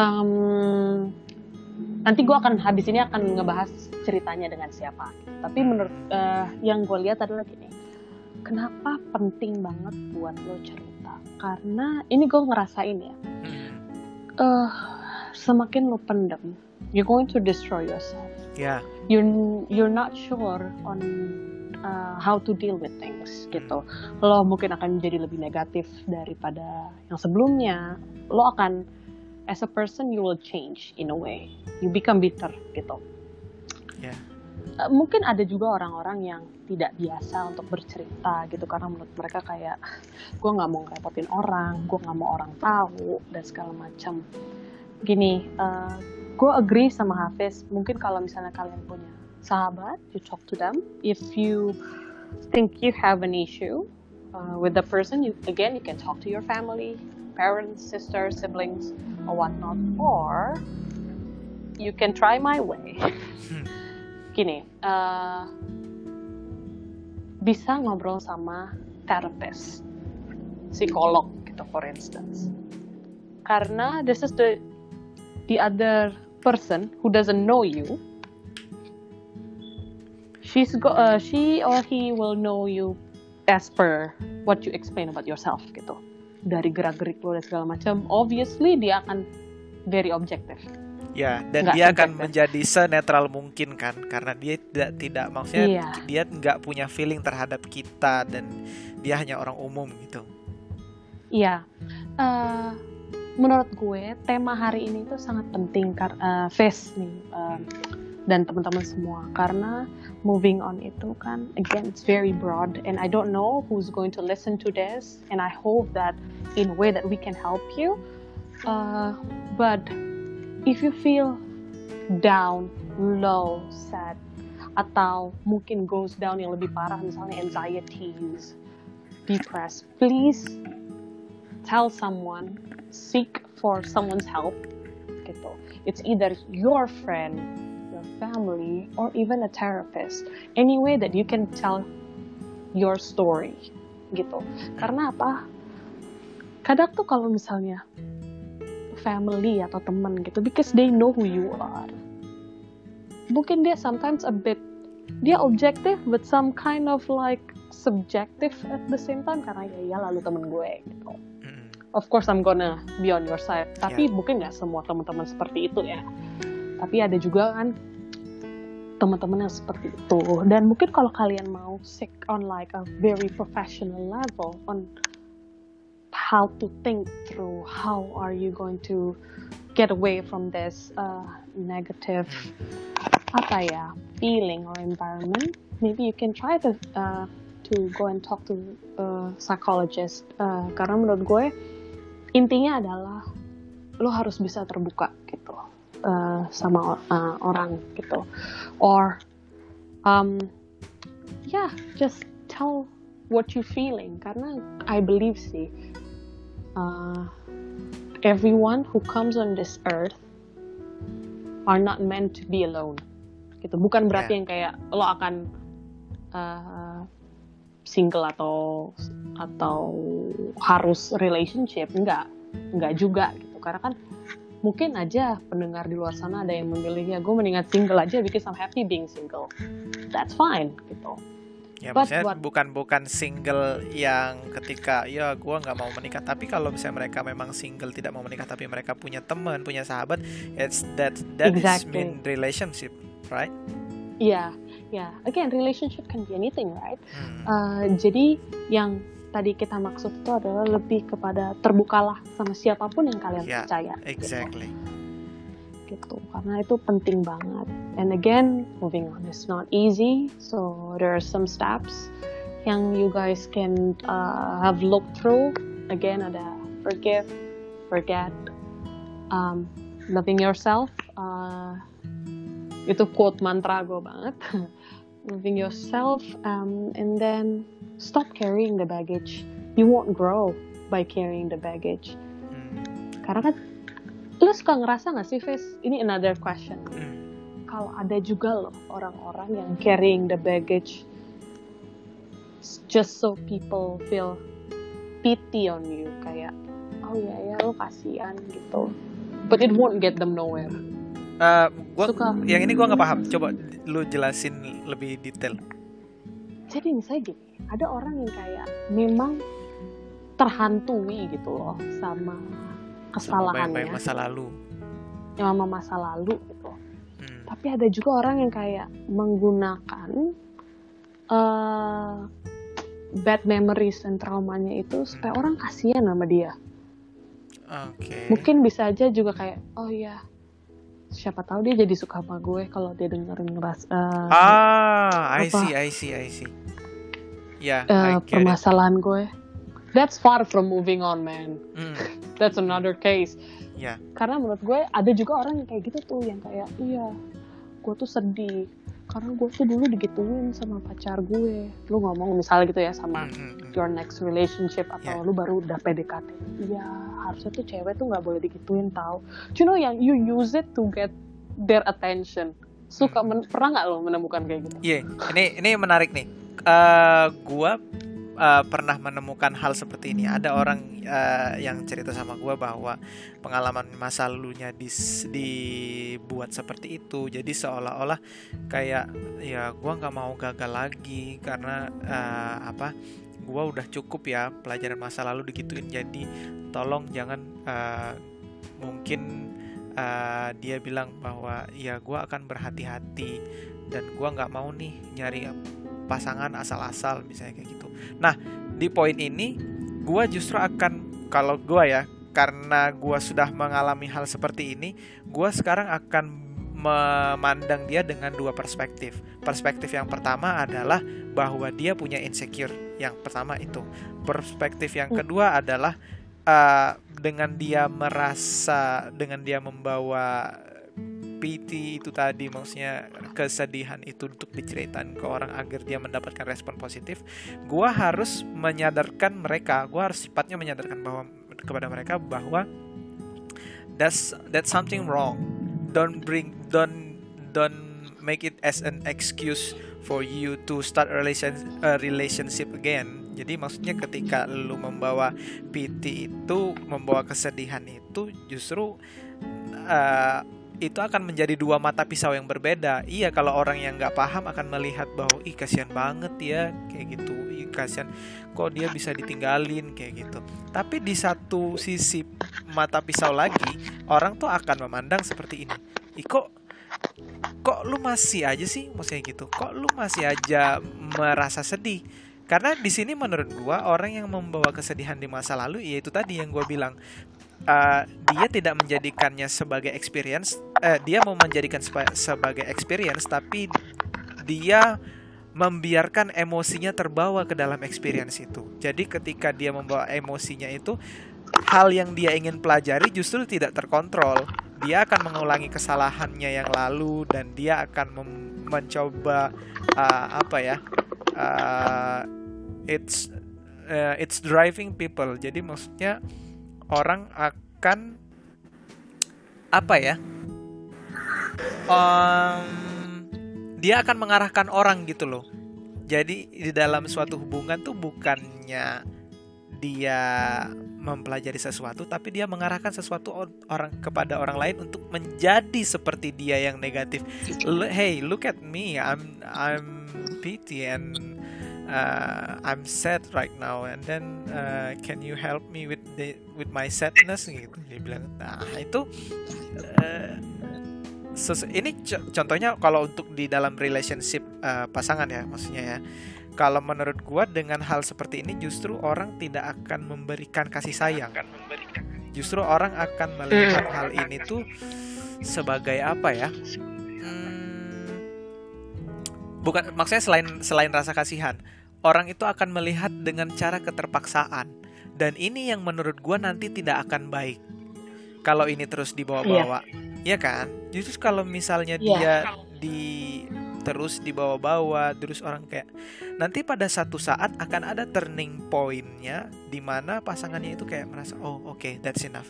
nanti gue habis ini akan ngebahas ceritanya dengan siapa. Tapi menurut yang gue lihat adalah gini, kenapa penting banget buat lo cerita? Karena ini gue ngerasain ya, semakin lo pendem, you're going to destroy yourself. Yeah. You're not sure on how to deal with things gitu. Lo mungkin akan menjadi lebih negatif daripada yang sebelumnya. Lo akan, as a person, you will change in a way. You become bitter gitu. Yeah. Mungkin ada juga orang-orang yang tidak biasa untuk bercerita gitu, karena menurut mereka kayak, gue nggak mau ngerepotin orang, gue nggak mau orang tahu dan segala macam. Gini, gue agree sama Hafiz. Mungkin kalau misalnya kalian punya sahabat, you talk to them. If you think you have an issue with the person, you can talk to your family, parents, sisters, siblings, or whatnot. Or you can try my way. Gini, bisa ngobrol sama therapist, psikolog gitu, for instance. Karena this is the other person who doesn't know you. She or he will know you as per what you explain about yourself gitu. Dari gerak-gerik lo dan segala macam, obviously dia akan very objective. Ya, dan dia akan menjadi senetral mungkin kan, karena dia tidak maksudnya dia nggak punya feeling terhadap kita dan dia hanya orang umum gitu. Iya. Menurut gue tema hari ini tuh sangat penting Face nih dan teman-teman semua, karena moving on itu kan, again, it's very broad and I don't know who's going to listen to this, and I hope that in a way that we can help you, but if you feel down, low, sad, atau mungkin goes down yang lebih parah, misalnya anxieties, depressed, please tell someone, seek for someone's help gitu. It's either your friend, your family, or even a therapist. Any way that you can tell your story gitu. Karena apa? Kadang tuh kalau misalnya family atau teman gitu, because they know who you are, mungkin dia sometimes dia objective but some kind of like subjective at the same time, karena ya lalu temen gue gitu. Of course I'm gonna be on your side, tapi mungkin nggak semua teman-teman seperti itu ya. Tapi ada juga kan teman-teman yang seperti itu. Dan mungkin kalau kalian mau seek on like a very professional level on how to think through how are you going to get away from this negative feeling or environment, maybe you can try to go and talk to a psychologist. Karena menurut gue intinya adalah lo harus bisa terbuka gitu sama orang gitu, or just tell what you feeling, karena I believe sih everyone who comes on this earth are not meant to be alone gitu. Bukan berarti yang kayak lo akan single atau harus relationship, enggak juga gitu. Karena kan mungkin aja pendengar di luar sana ada yang memilih, ya gue mendingan single aja because I'm happy being single. That's fine gitu. Ya, maksudnya bukan single yang ketika ya gue nggak mau menikah, tapi kalau misalnya mereka memang single tidak mau menikah tapi mereka punya teman, punya sahabat, that exactly. Is mean relationship, right? Yeah. Again, relationship can be anything, right? Jadi yang tadi kita maksud itu adalah lebih kepada terbukalah sama siapapun yang kalian percaya. Exactly. Gitu, karena itu penting banget. And again, moving on is not easy, so there are some steps yang you guys can have looked through. Again, ada forgive, forget, loving yourself. Itu quote mantra gue banget. Loving yourself, and then stop carrying the baggage. You won't grow by carrying the baggage. Karena kan lo suka ngerasa gak sih, Fis? Ini another question. Kalau ada juga loh orang-orang yang carrying the baggage just so people feel pity on you, kayak oh ya lo kasihan gitu, but it won't get them nowhere. Yang ini gue nggak paham. Coba lu jelasin lebih detail. Jadi misalnya gini, ada orang yang kayak memang terhantui gitu loh sama kesalahannya, sama masa lalu gitu. Tapi ada juga orang yang kayak menggunakan bad memories dan traumanya itu supaya orang kasihan sama dia. Mungkin bisa aja juga kayak oh ya, siapa tahu dia jadi suka sama gue kalau dia dengerin I see. Ya, permasalahan gue. That's far from moving on, man. That's another case. Yeah. Karena menurut gue ada juga orang yang kayak gitu tuh, yang kayak iya, gue tuh sedih karena gue tuh dulu digituin sama pacar gue. Lu ngomong misalnya gitu ya sama your next relationship, atau lu baru udah PDKT. Iya, harusnya tuh cewek tuh nggak boleh digituin tau. You know, yang you use it to get their attention. Pernah nggak lo menemukan kayak gitu? Iya, ini menarik nih. Gue pernah menemukan hal seperti ini. Ada orang yang cerita sama gue bahwa pengalaman masa lalunya dibuat seperti itu. Jadi seolah-olah kayak ya gue nggak mau gagal lagi karena gue udah cukup ya pelajaran masa lalu digituin. Jadi tolong jangan mungkin dia bilang bahwa ya gue akan berhati-hati dan gue nggak mau nih nyari pasangan asal-asal misalnya kayak gitu. Nah, di poin ini gue justru akan, kalau gue ya, karena gue sudah mengalami hal seperti ini, gue sekarang akan memandang dia dengan dua perspektif. Perspektif yang pertama adalah bahwa dia punya insecure. Yang pertama itu. Perspektif yang kedua adalah dengan dia membawa pity itu tadi, maksudnya kesedihan itu untuk diceritain ke orang agar dia mendapatkan respon positif. Gua harus menyadarkan mereka, gua harus sifatnya menyadarkan kepada mereka bahwa that's something wrong. Don't make it as an excuse for you to start a relationship again. Jadi maksudnya ketika lu membawa pity itu, membawa kesedihan itu, justru itu akan menjadi dua mata pisau yang berbeda. Iya, kalau orang yang nggak paham akan melihat bahwa ih kasihan banget ya kayak gitu, ih kasihan kok dia bisa ditinggalin kayak gitu. Tapi di satu sisi mata pisau lagi, orang tuh akan memandang seperti ini, ih kok lu masih aja sih, maksudnya gitu, kok lu masih aja merasa sedih. Karena di sini menurut gua orang yang membawa kesedihan di masa lalu, yaitu tadi yang gua bilang, dia tidak menjadikannya sebagai experience, dia mau menjadikan sebagai experience, tapi dia membiarkan emosinya terbawa ke dalam experience itu. Jadi ketika dia membawa emosinya itu, hal yang dia ingin pelajari justru tidak terkontrol. Dia akan mengulangi kesalahannya yang lalu dan dia akan mencoba apa ya? uh, it's it's driving people. Jadi maksudnya orang akan apa ya? Dia akan mengarahkan orang gitu loh. Jadi di dalam suatu hubungan tuh bukannya dia mempelajari sesuatu, tapi dia mengarahkan sesuatu orang kepada orang lain untuk menjadi seperti dia yang negatif. Hey, look at me, I'm pity and I'm sad right now, and then can you help me with my sadness gitu. Dia bilang, nah itu ini contohnya kalau untuk di dalam relationship pasangan ya, maksudnya ya. Kalau menurut gua dengan hal seperti ini justru orang tidak akan memberikan kasih sayang. Justru orang akan melihat hal ini tuh sebagai apa ya? Bukan, maksudnya selain rasa kasihan, orang itu akan melihat dengan cara keterpaksaan. Dan ini yang menurut gua nanti tidak akan baik kalau ini terus dibawa-bawa. Iya kan? Justru kalau misalnya dia terus dibawa-bawa, terus orang kayak nanti pada satu saat akan ada turning point-nya di mana pasangannya itu kayak merasa, oh okay, that's enough.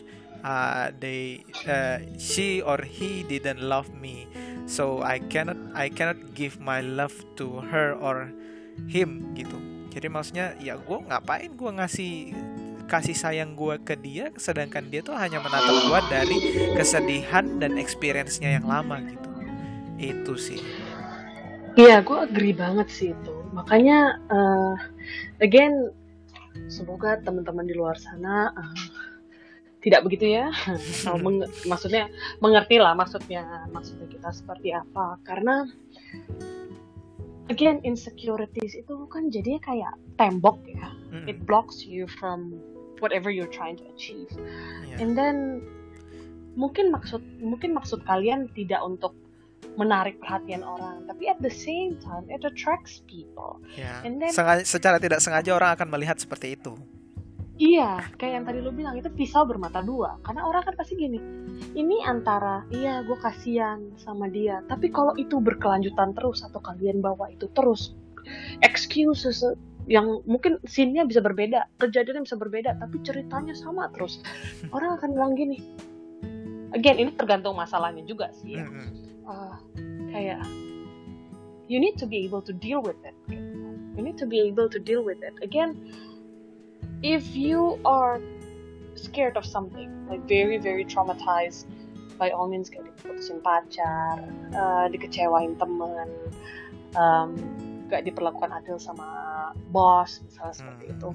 She or he didn't love me, so I cannot give my love to her or him gitu. Jadi maksudnya ya gue ngapain gue ngasih kasih sayang gue ke dia, sedangkan dia tuh hanya menatap gue dari kesedihan dan experience-nya yang lama gitu. Itu sih. Iya, gue agree banget sih itu. Makanya, again, semoga teman-teman di luar sana tidak begitu ya. Maksudnya mengerti lah maksudnya kita seperti apa. Karena, again, insecurities itu kan jadinya kayak tembok ya. It blocks you from whatever you're trying to achieve. Yeah. And then mungkin maksud kalian tidak untuk menarik perhatian orang, tapi at the same time it attracts people. Yeah. And then secara tidak sengaja orang akan melihat seperti itu. Iya, kayak yang tadi lo bilang itu pisau bermata dua. Karena orang kan pasti gini, ini antara iya gue kasihan sama dia, tapi kalau itu berkelanjutan terus atau kalian bawa itu terus, excuses yang mungkin scene-nya bisa berbeda, kejadiannya bisa berbeda, tapi ceritanya sama terus. Orang akan bilang gini. Again, ini tergantung masalahnya juga sih ya. Kayak you need to be able to deal with it. You need to be able to deal with it. Again, if you are scared of something, like very very traumatized, by all means kayak diputusin pacar, dikecewain teman, gak diperlakukan adil sama bos, misalnya seperti itu.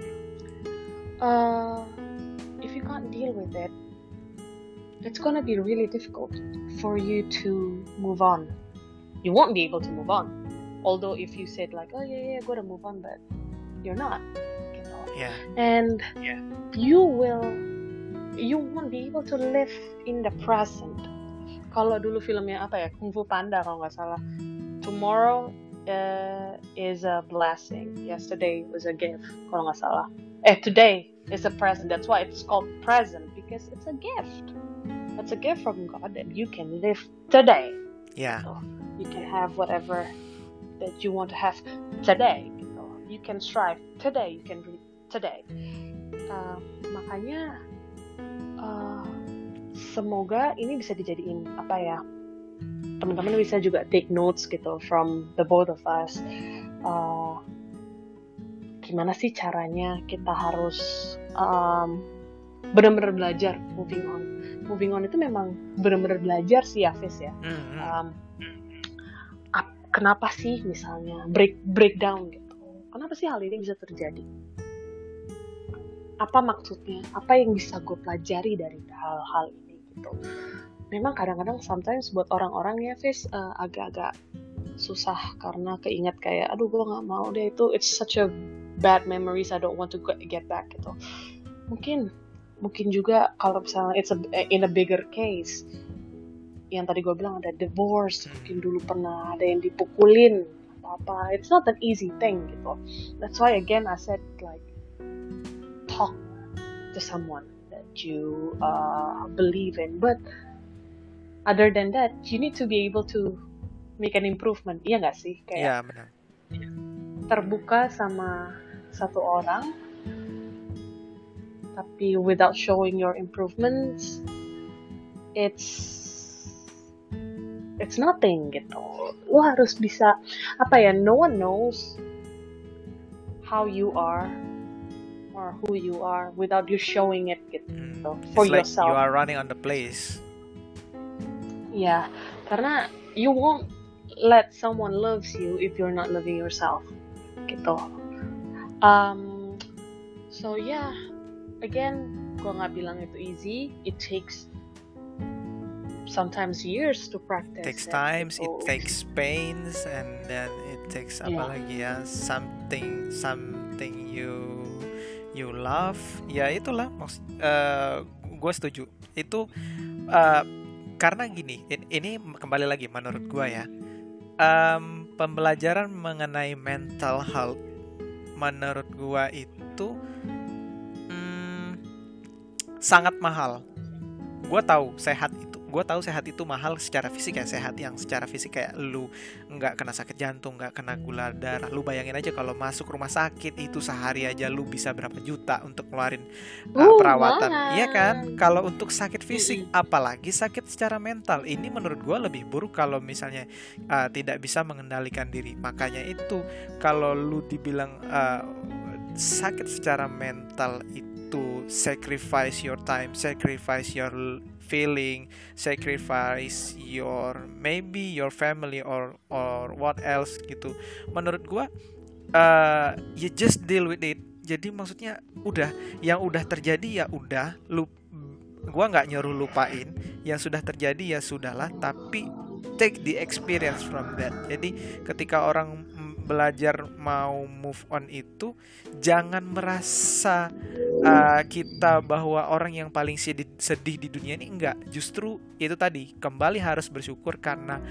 If you can't deal with it, it's gonna be really difficult for you to move on. You won't be able to move on. Although if you said like, oh yeah, gue udah move on, but you're not. You know? Yeah. And you won't be able to live in the present. Kalau dulu filmnya apa ya, Kung Fu Panda kalau nggak salah. Tomorrow is a blessing. Yesterday was a gift. Kalau nggak salah. Today is a present. That's why it's called present, because it's a gift. It's a gift from God that you can live today. Yeah. So you can have whatever that you want to have today. Gitu. You can strive today. You can read today. Makanya semoga ini bisa dijadiin apa ya? Teman-teman bisa juga take notes gitu from the both of us. Gimana sih caranya kita harus benar-benar belajar moving on. Moving on itu memang benar-benar belajar sih ya, Fis ya. Kenapa sih misalnya breakdown gitu? Kenapa sih hal ini bisa terjadi? Apa maksudnya? Apa yang bisa gue pelajari dari hal-hal ini gitu? Memang kadang-kadang sometimes buat orang-orang ya, Fis, agak-agak susah karena keinget kayak, aduh gue nggak mau deh itu, it's such a bad memories, I don't want to get back gitu. Mungkin juga kalau misalnya it's in a bigger case, yang tadi gue bilang ada divorce, mungkin dulu pernah ada yang dipukulin apa-apa, it's not an easy thing gitu. That's why again I said like talk to someone that you believe in. But other than that, you need to be able to make an improvement. Iya nggak sih? Kayak benar. terbuka sama satu orang, tapi without showing your improvements, it's nothing gitu. Lo harus bisa no one knows how you are or who you are without you showing it gitu for It's like yourself. you are running on the place. Ya, karena you won't let someone loves you if you're not loving yourself gitu. So yeah, again, gue nggak bilang itu easy. It takes sometimes years to practice. It takes times, it takes pains, and then it takes apa lagi ya, something you love. Ya itulah, gue setuju. Itu karena gini, ini kembali lagi menurut gue ya, pembelajaran mengenai mental health menurut gue itu sangat mahal. Gue tahu sehat itu mahal secara fisik ya, sehat yang secara fisik kayak lu nggak kena sakit jantung, nggak kena gula darah. Lu bayangin aja kalau masuk rumah sakit itu sehari aja lu bisa berapa juta untuk ngeluarin perawatan, iya kan? Kalau untuk sakit fisik, apalagi sakit secara mental, ini menurut gue lebih buruk kalau misalnya tidak bisa mengendalikan diri. Makanya itu kalau lu dibilang sakit secara mental itu sacrifice your time, sacrifice your feeling, sacrifice your maybe your family or what else gitu. Menurut gua you just deal with it. Jadi maksudnya udah, yang udah terjadi ya udah, gua nggak nyuruh lupain, yang sudah terjadi ya sudahlah, tapi take the experience from that. Jadi ketika orang belajar mau move on itu, jangan merasa kita bahwa orang yang paling sedih di dunia ini. Enggak, justru itu tadi, kembali harus bersyukur karena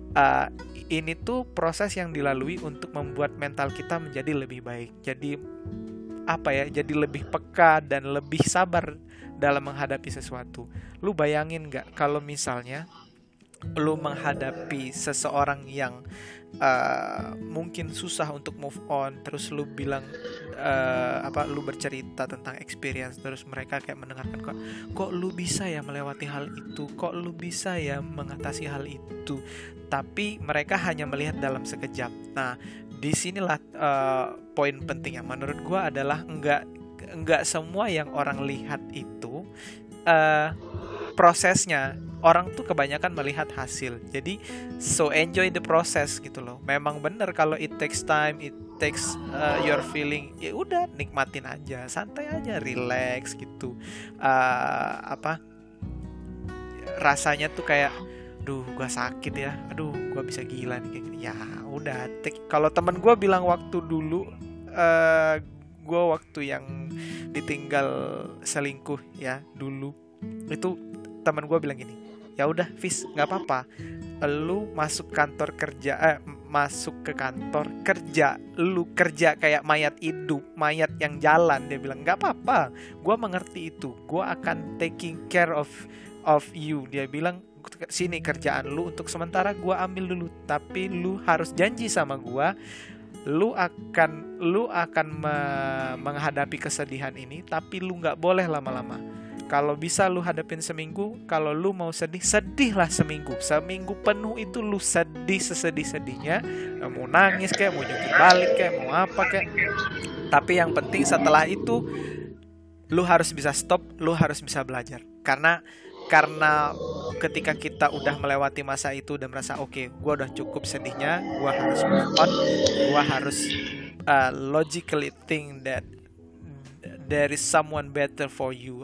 ini tuh proses yang dilalui untuk membuat mental kita menjadi lebih baik. Jadi jadi lebih peka dan lebih sabar dalam menghadapi sesuatu. Lu bayangin nggak kalau misalnya lu menghadapi seseorang yang mungkin susah untuk move on, terus lu bilang lu bercerita tentang experience, terus mereka kayak mendengarkan, kok lu bisa ya melewati hal itu, kok lu bisa ya mengatasi hal itu, tapi mereka hanya melihat dalam sekejap. Nah, disinilah poin penting yang menurut gua adalah enggak semua yang orang lihat itu prosesnya. Orang tuh kebanyakan melihat hasil. Jadi so enjoy the process gitu loh. Memang bener kalau it takes time, it takes your feeling, ya udah nikmatin aja, santai aja, relax gitu. Rasanya tuh kayak, aduh gua sakit ya, aduh gua bisa gila nih kayak gini. Ya udah, kalau teman gua bilang waktu dulu gua waktu yang ditinggal selingkuh ya dulu, itu teman gue bilang gini, ya udah Fis, nggak apa-apa, lu masuk kantor kerja, masuk ke kantor kerja, lu kerja kayak mayat hidup, mayat yang jalan. Dia bilang nggak apa-apa, gue mengerti itu, gue akan taking care of you. Dia bilang sini kerjaan lu untuk sementara gue ambil dulu, tapi lu harus janji sama gue, lu akan menghadapi kesedihan ini, tapi lu nggak boleh lama-lama. Kalau bisa lu hadapin seminggu. Kalau lu mau sedih, sedihlah seminggu. Seminggu penuh itu lu sedih sesedih-sedihnya. Mau nangis kayak, mau jungkir balik kayak, mau apa kayak. Tapi yang penting setelah itu lu harus bisa stop, lu harus bisa belajar. Karena ketika kita udah melewati masa itu dan merasa oke, gue udah cukup sedihnya, gue harus move on, gue harus logically think that there is someone better for you.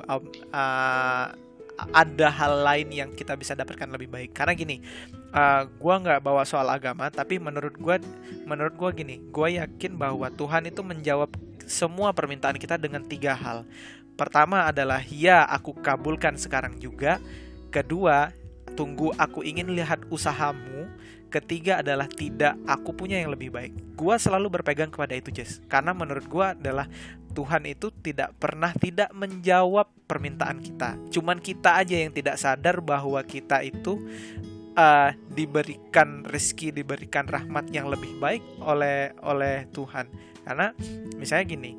Ada hal lain yang kita bisa dapatkan lebih baik. Karena gini, gue nggak bawa soal agama, tapi menurut gue gini, gue yakin bahwa Tuhan itu menjawab semua permintaan kita dengan 3 hal. Pertama adalah ya, aku kabulkan sekarang juga. Kedua, tunggu, aku ingin lihat usahamu. Ketiga adalah tidak, aku punya yang lebih baik. Gua selalu berpegang kepada itu, Jess. Karena menurut gua adalah Tuhan itu tidak pernah tidak menjawab permintaan kita. Cuman kita aja yang tidak sadar bahwa kita itu diberikan rezeki, diberikan rahmat yang lebih baik oleh Tuhan. Karena misalnya gini,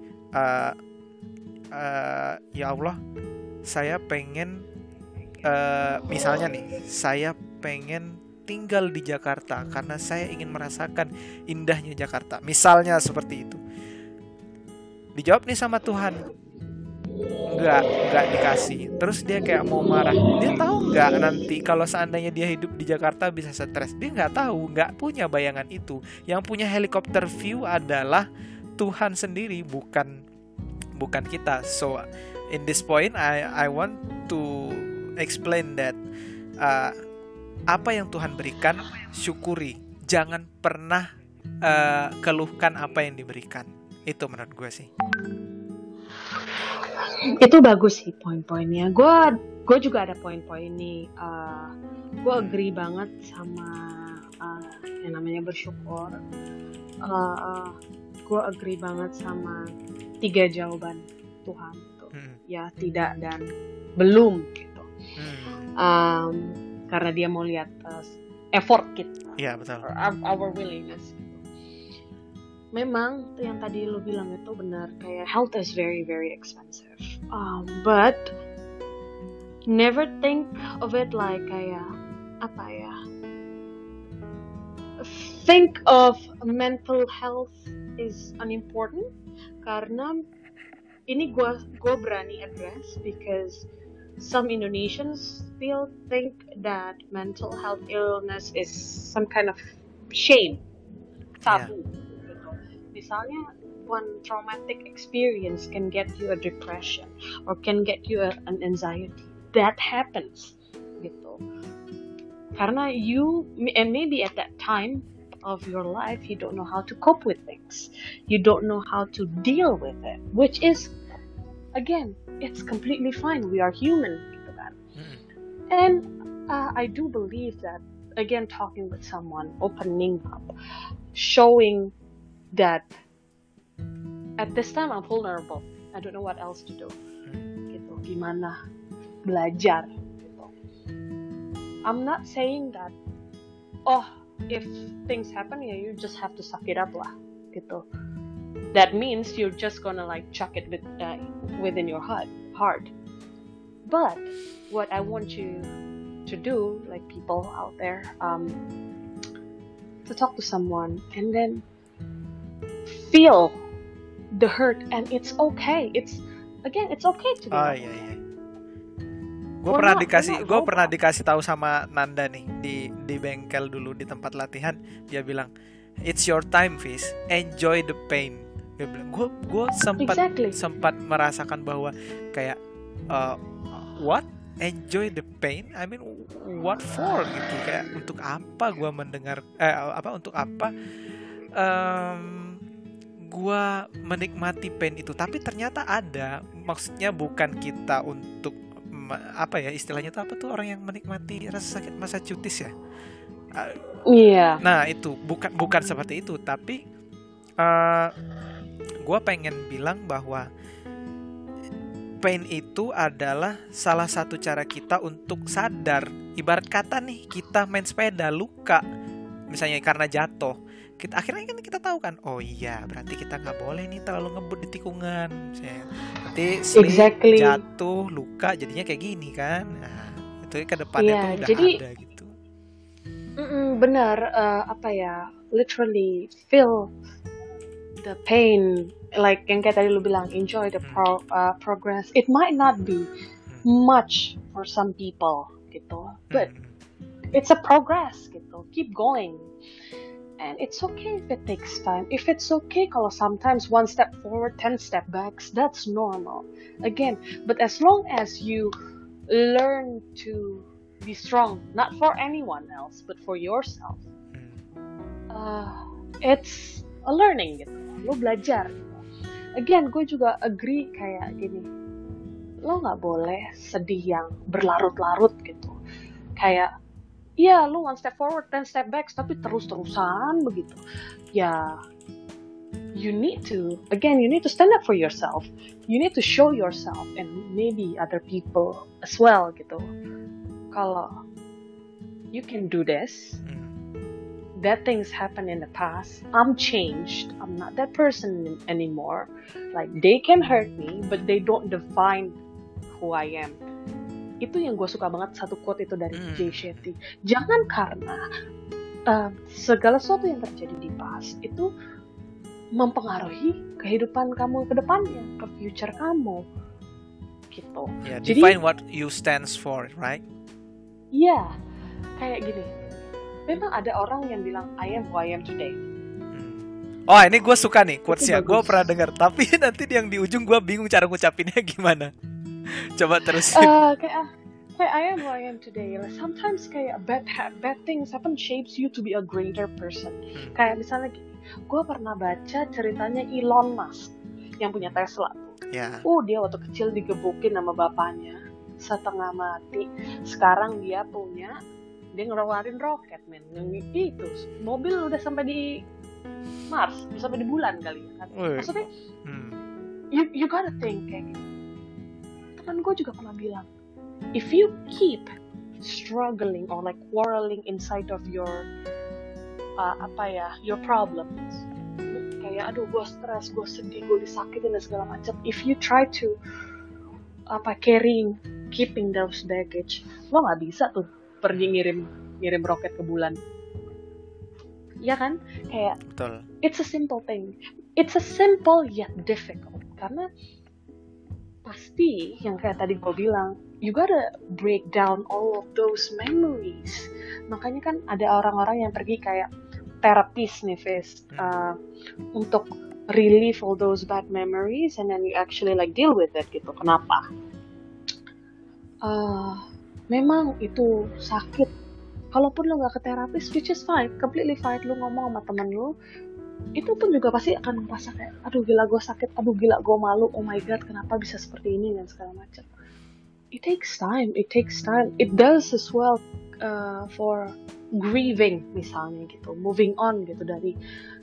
ya Allah, saya pengen misalnya nih, saya pengen tinggal di Jakarta karena saya ingin merasakan indahnya Jakarta. Misalnya seperti itu. Dijawab nih sama Tuhan, nggak dikasih. Terus dia kayak mau marah. Dia tahu nggak nanti kalau seandainya dia hidup di Jakarta bisa stres? Dia nggak tahu, nggak punya bayangan itu. Yang punya helikopter view adalah Tuhan sendiri, bukan kita. So in this point, I want to explain that apa yang Tuhan berikan, syukuri. Jangan pernah keluhkan apa yang diberikan. Itu menurut gue sih. Itu bagus sih poin-poinnya. Gue juga ada poin-poin nih. Gue agree banget sama yang namanya bersyukur. Gue agree banget sama 3 jawaban Tuhan tuh. Ya, tidak dan belum gitu. Karena dia mau lihat effort kita. Iya, betul. Our willingness. Memang yang tadi lo bilang itu benar, kayak health is very very expensive, but never think of it like kayak apa ya, think of mental health is unimportant. Karena ini gue berani address because some Indonesians still think that mental health illness is some kind of shame, tabu. Misalnya, one traumatic experience can get you a depression or can get you an anxiety. That happens, gitu. Karena and maybe at that time of your life, you don't know how to cope with things. You don't know how to deal with it, which is, again, it's completely fine. We are human, gitu kan. And I do believe that, again, talking with someone, opening up, showing that at this time I'm vulnerable. I don't know what else to do. Gitu. Gimana belajar gitu. I'm not saying that if things happen ya you just have to suck it up lah gitu. That means you're just gonna like chuck it within your heart. But what I want you to do, like people out there, to talk to someone and then feel the hurt, and it's okay. It's okay to be. Iya. Gue pernah dikasih tahu sama Nanda nih di bengkel dulu di tempat latihan. Dia bilang, it's your time, Fish. Enjoy the pain. Dia bilang, gue sempat merasakan bahwa kayak what? Enjoy the pain? I mean, what for gitu? Kayak untuk apa gue mendengar? Untuk apa? Gue menikmati pain itu, tapi ternyata ada, maksudnya bukan kita untuk apa ya istilahnya tuh apa tuh orang yang menikmati rasa sakit masa cutis ya. Iya. Nah itu bukan seperti itu, tapi gue pengen bilang bahwa pain itu adalah salah satu cara kita untuk sadar. Ibarat kata nih, kita main sepeda luka, misalnya karena jatuh. Akhirnya kan kita tahu kan, oh iya berarti kita nggak boleh nih terlalu ngebut di tikungan. Nanti slip, jatuh, luka, jadinya kayak gini kan. Nah itu ke depannya tuh udah jadi, ada gitu. Benar, literally feel the pain, like yang kayak tadi lu bilang, enjoy the progress. It might not be much for some people gitu, but it's a progress gitu. Keep going. And it's okay if it takes time. If it's okay kalau sometimes 1 step forward, 10 step backs, that's normal. Again, but as long as you learn to be strong, not for anyone else, but for yourself, it's a learning gitu. Lo belajar gitu. Again, gue juga agree kayak gini. Lo gak boleh sedih yang berlarut-larut gitu. Kayak iya, lu 1 step forward, 10 step back, tapi terus-terusan begitu. Ya, you need to stand up for yourself. You need to show yourself and maybe other people as well gitu. Kalau you can do this, that things happen in the past. I'm changed. I'm not that person anymore. Like they can hurt me, but they don't define who I am. Itu yang gue suka banget, satu quote itu dari Jay Shetty. Jangan karena segala sesuatu yang terjadi di past itu mempengaruhi kehidupan kamu ke depannya, ke future kamu, gitu. Yeah, define what you stands for, right? Iya, kayak gini. Memang ada orang yang bilang I am who I am today. Oh, ini gue suka nih quotes-nya. Gue pernah dengar, tapi nanti yang di ujung gue bingung cara ngucapinnya gimana. Coba terusin. Kayak I am who I am today. Like, sometimes kayak bad things happen shapes you to be a greater person. Kayak misalnya gini, gue pernah baca ceritanya Elon Musk yang punya Tesla. Yeah. Dia waktu kecil digebukin sama bapaknya setengah mati. Sekarang dia ngeluarin roket, men. Itu mobil udah sampai di Mars, udah sampai di bulan kali ya kan. Maksudnya you gotta think kayak gitu. Teman gue juga pernah bilang, if you keep struggling or like quarreling inside of your your problems, kayak aduh gue stres, gue sedih, gue disakitin dan segala macam. If you try to keeping those baggage, lo nggak bisa tuh pergi ngirim roket ke bulan. Ya kan? Kayak betul. It's a simple thing. It's a simple yet difficult. Karena pasti yang kayak tadi gue bilang, you gotta break down all of those memories. Makanya kan ada orang-orang yang pergi kayak terapis nih, Fis, untuk relieve all those bad memories and then you actually like deal with it gitu. Kenapa? Memang itu sakit. Kalaupun lo gak ke terapis, which is fine, completely fine. Lo ngomong sama temen lo, itu pun juga pasti akan merasa kayak, aduh gila gue sakit, aduh gila gue malu, oh my god kenapa bisa seperti ini dan segala macam. It takes time. It does as well for grieving misalnya gitu, moving on gitu dari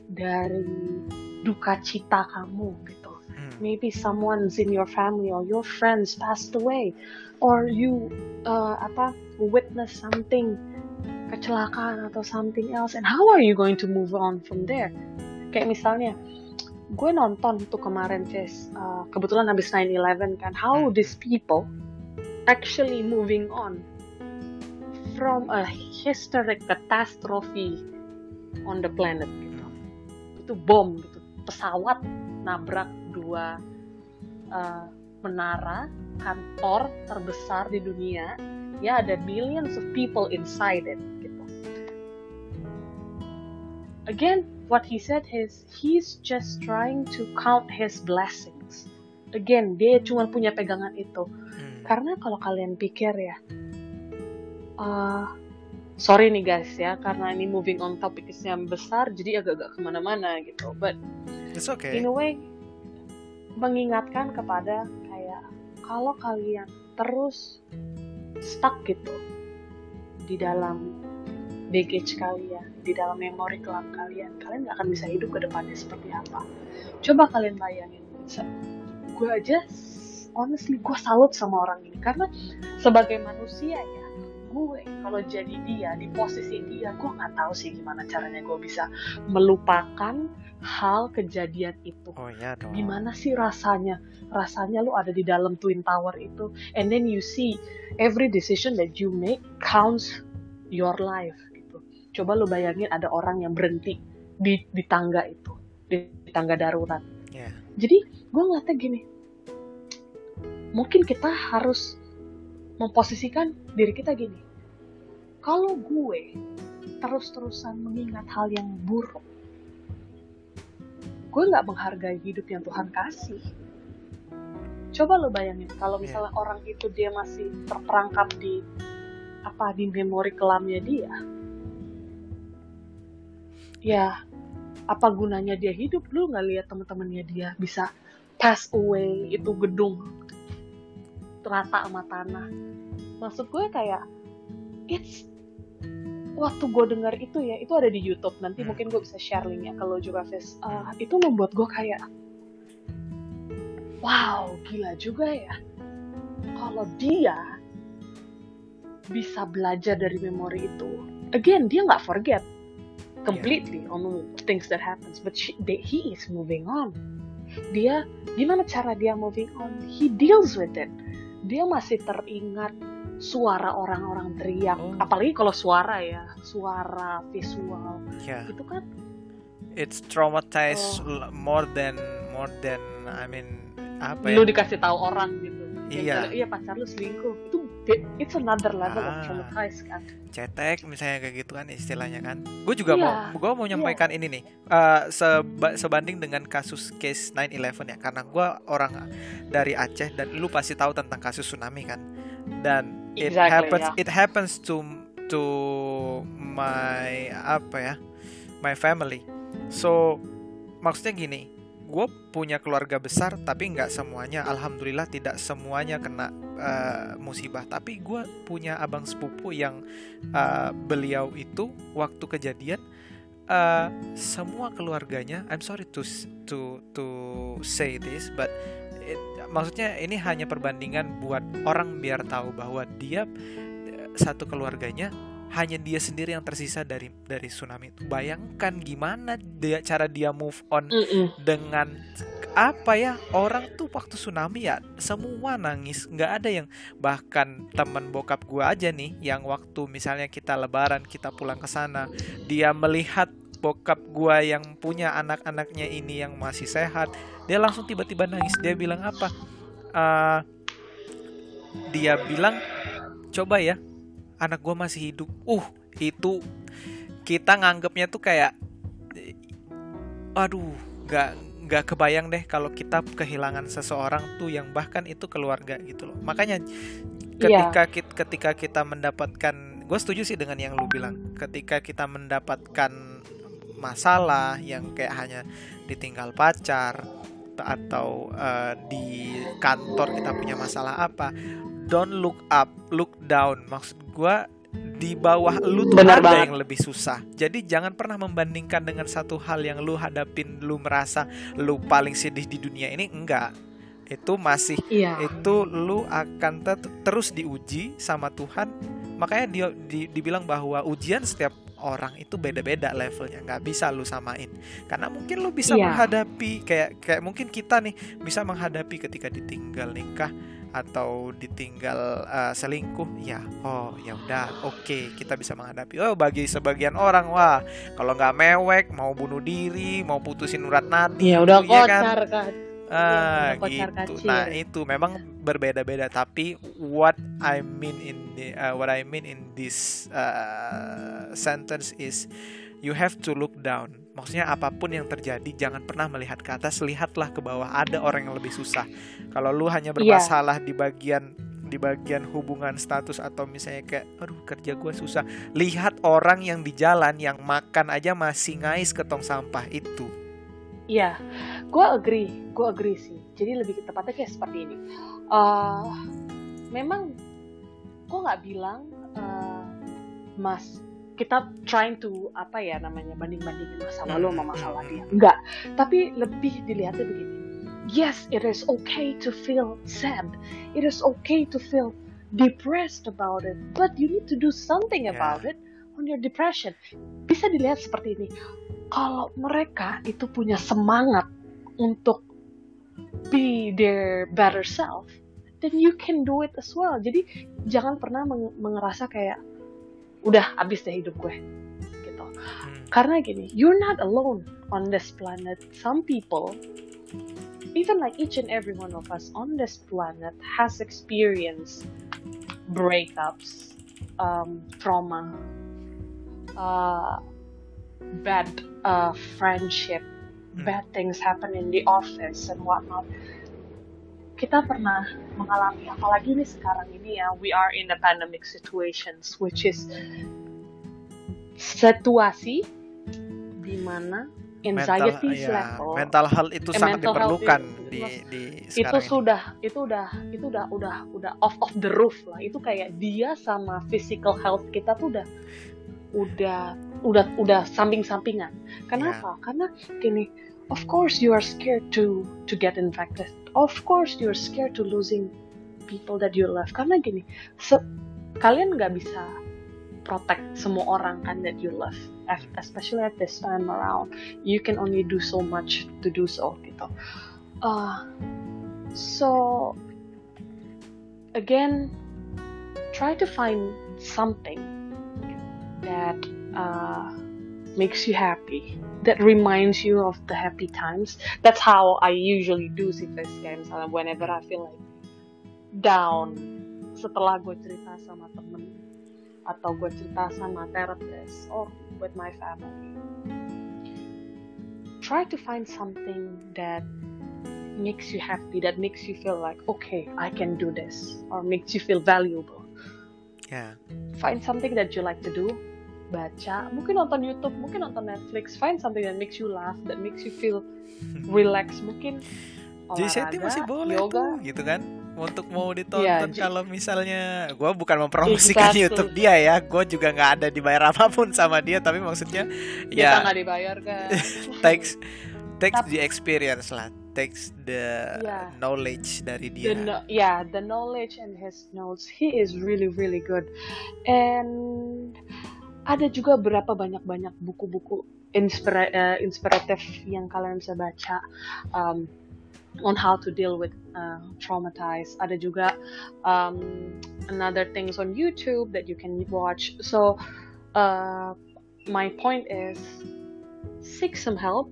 duka cita kamu gitu. Maybe someone's in your family or your friends passed away, or you witness something, kecelakaan atau something else, and how are you going to move on from there? Kayak misalnya, gue nonton tuh kemarin, Jess, kebetulan habis 9/11 kan, how these people actually moving on from a historic catastrophe on the planet gitu. Itu bom gitu, pesawat nabrak dua menara kantor terbesar di dunia. Ya, ada millions of people inside it gitu. Again, what he said is he's just trying to count his blessings. Again, dia cuma punya pegangan itu. Karena kalau kalian pikir ya, sorry nih guys ya, karena ini moving on topiknya besar, jadi agak-agak kemana-mana gitu. But it's okay. In a way, mengingatkan kepada kayak kalau kalian terus stuck gitu di dalam baggage kalian, di dalam memori kelam kalian gak akan bisa hidup ke depannya seperti apa. Coba kalian bayangin, gue aja honestly gue salut sama orang ini karena sebagai manusia ya, gue kalau jadi dia, di posisi dia, gue nggak tahu sih gimana caranya gue bisa melupakan hal kejadian itu. Oh ya dong. Gimana sih rasanya lu ada di dalam Twin Tower itu, and then you see every decision that you make counts your life gitu. Coba lu bayangin ada orang yang berhenti di tangga itu, di tangga darurat. Yeah. Jadi gue ngeliatnya gini, mungkin kita harus memposisikan diri kita gini. Kalau gue terus-terusan mengingat hal yang buruk, gue gak menghargai hidup yang Tuhan kasih. Coba lo bayangin, kalau misalnya orang itu dia masih terperangkap di memori kelamnya dia. Ya, apa gunanya dia hidup? Lu gak lihat teman-temannya dia bisa pass away, itu gedung rata sama tanah. Maksud gue kayak, it's waktu gue dengar itu ya, itu ada di YouTube, nanti mungkin gue bisa share linknya kalau juga Fis. Itu membuat gue kayak wow, gila juga ya kalau dia bisa belajar dari memori itu. Again, dia nggak forget completely on things that happens, but he is moving on. Dia gimana cara dia moving on? He deals with it. Dia masih teringat suara orang-orang teriak, apalagi kalau suara visual, itu kan it's traumatized more than I mean apa lu dikasih tahu orang gitu, iya pacar lu selingkuh, itu it's another level of traumatized kan. Cetek misalnya kayak gitu kan istilahnya kan. Gue juga mau menyampaikan ini nih, sebanding dengan kasus case 9/11 ya, karena gue orang dari Aceh dan lu pasti tahu tentang kasus tsunami kan, dan it happens to my family. So maksudnya gini, gue punya keluarga besar tapi nggak semuanya, alhamdulillah tidak semuanya kena musibah. Tapi gue punya abang sepupu yang beliau itu waktu kejadian semua keluarganya, I'm sorry to say this, but maksudnya ini hanya perbandingan buat orang biar tahu bahwa dia satu keluarganya hanya dia sendiri yang tersisa dari tsunami itu. Bayangkan gimana cara dia move on dengan apa ya, orang tuh waktu tsunami ya semua nangis, nggak ada yang, bahkan teman bokap gue aja nih yang waktu misalnya kita lebaran kita pulang ke sana, dia melihat bokap gue yang punya anak-anaknya ini yang masih sehat, dia langsung tiba-tiba nangis. Dia bilang apa? Dia bilang coba ya anak gue masih hidup. Itu kita nganggapnya tuh kayak aduh, nggak kebayang deh kalau kita kehilangan seseorang tuh yang bahkan itu keluarga gitu loh. Makanya ketika kita mendapatkan, gue setuju sih dengan yang lu bilang, ketika kita mendapatkan masalah yang kayak hanya ditinggal pacar atau di kantor kita punya masalah apa, don't look up, look down. Maksud gue di bawah lu tuh ada yang lebih susah. Jadi jangan pernah membandingkan dengan satu hal yang lu hadapin, lu merasa lu paling sedih di dunia ini. Enggak. Itu masih itu lu akan terus diuji sama Tuhan. Makanya dibilang bahwa ujian setiap orang itu beda-beda levelnya, nggak bisa lu samain. Karena mungkin lu bisa menghadapi kayak mungkin kita nih bisa menghadapi ketika ditinggal nikah atau ditinggal selingkuh, ya udah, oke, kita bisa menghadapi. Bagi sebagian orang, wah kalau nggak mewek mau bunuh diri, mau putusin urat nadi, ya udah kocar kan. Gitu. Nah itu memang berbeda-beda. Tapi what I mean in this sentence is you have to look down. Maksudnya apapun yang terjadi jangan pernah melihat ke atas, lihatlah ke bawah, ada orang yang lebih susah. Kalau lu hanya bermasalah di bagian hubungan status atau misalnya kayak aduh kerja gue susah, lihat orang yang di jalan yang makan aja masih ngais ke tong sampah itu. Iya, gue agree sih. Jadi lebih tepatnya kayak seperti ini. Memang gue nggak bilang kita trying to banding-bandingin masa lalu sama masalah dia. Enggak. Tapi lebih dilihatnya begini. Yes, it is okay to feel sad. It is okay to feel depressed about it. But you need to do something about it on your depression. Bisa dilihat seperti ini. Kalau mereka itu punya semangat untuk be their better self, then you can do it as well. Jadi jangan pernah mengerasa kayak udah habis deh hidup gue gitu. Karena gini, you're not alone on this planet. Some people, even like each and every one of us on this planet, has experienced breakups, trauma, bad friendship, bad things happen in the office and whatnot. Kita pernah mengalami, apalagi nih sekarang ini ya, we are in a pandemic situations, which is situasi di mana anxiety level, mental health itu sangat diperlukan di sekarang itu udah off the roof lah. Itu kayak dia sama physical health kita tuh udah udah samping-sampingan. Kenapa? Karena gini, of course you are scared to get infected. Of course you are scared to losing people that you love. Karena gini, kalian nggak bisa protect semua orang kan that you love, especially at this time around. You can only do so much to do so gitu. So again, try to find something that makes you happy, that reminds you of the happy times. That's how I usually do sih guys. Whenever I feel like down, setelah gue cerita sama temen atau gue cerita sama therapist or with my family, try to find something that makes you happy, that makes you feel like, okay, I can do this, or makes you feel valuable. Find something that you like to do. Baca, mungkin nonton YouTube, mungkin nonton Netflix. Find something that makes you laugh, that makes you feel relaxed. Mungkin olahraga, masih boleh yoga tuh, gitu kan, untuk mau ditonton. Kalau misalnya gue bukan mempromosikan YouTube dia ya, gue juga nggak ada dibayar apapun sama dia, tapi maksudnya kita nggak dibayar kan. takes the experience lah, takes the knowledge dari dia. The knowledge and his notes, he is really really good. And ada juga berapa banyak buku-buku inspiratif yang kalian bisa baca on how to deal with traumatized. Ada juga another things on YouTube that you can watch. So my point is, seek some help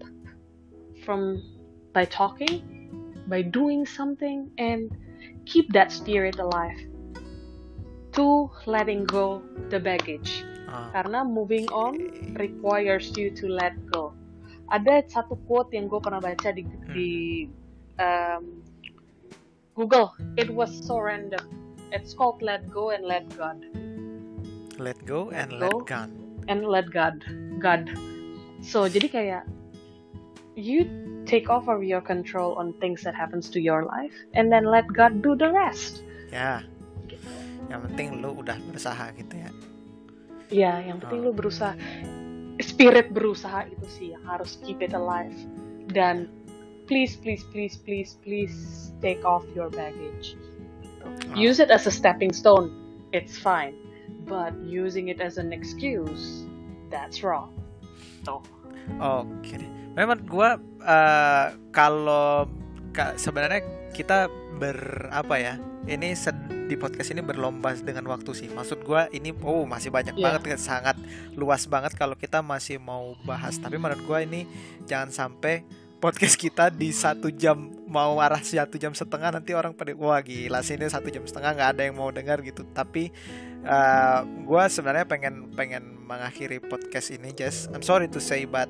by talking, by doing something, and keep that spirit alive. To letting go the baggage. Karena moving on requires you to let go. Ada satu quote yang gue pernah baca di Google. It was so random. It's called Let Go and Let God. Let go and let God. And let God. So jadi kayak you take over your control on things that happens to your life, and then let God do the rest. Ya. Gitu. Yang penting lu udah berusaha gitu ya. Ya, yang penting lu berusaha. Spirit berusaha itu sih yang harus keep it alive. Dan please take off your baggage. Use it as a stepping stone. It's fine. But using it as an excuse, that's wrong. Oke. Memang gue kalau sebenarnya kita ini di podcast ini berlomba dengan waktu sih. Maksud gue ini masih banyak banget, sangat luas banget kalau kita masih mau bahas. Tapi menurut gue ini jangan sampai podcast kita di 1 jam mau arah 1 jam setengah, nanti orang pada wah gila sih ini 1 jam setengah nggak ada yang mau dengar gitu. Tapi gue sebenarnya pengen mengakhiri podcast ini, Jess. I'm sorry to say but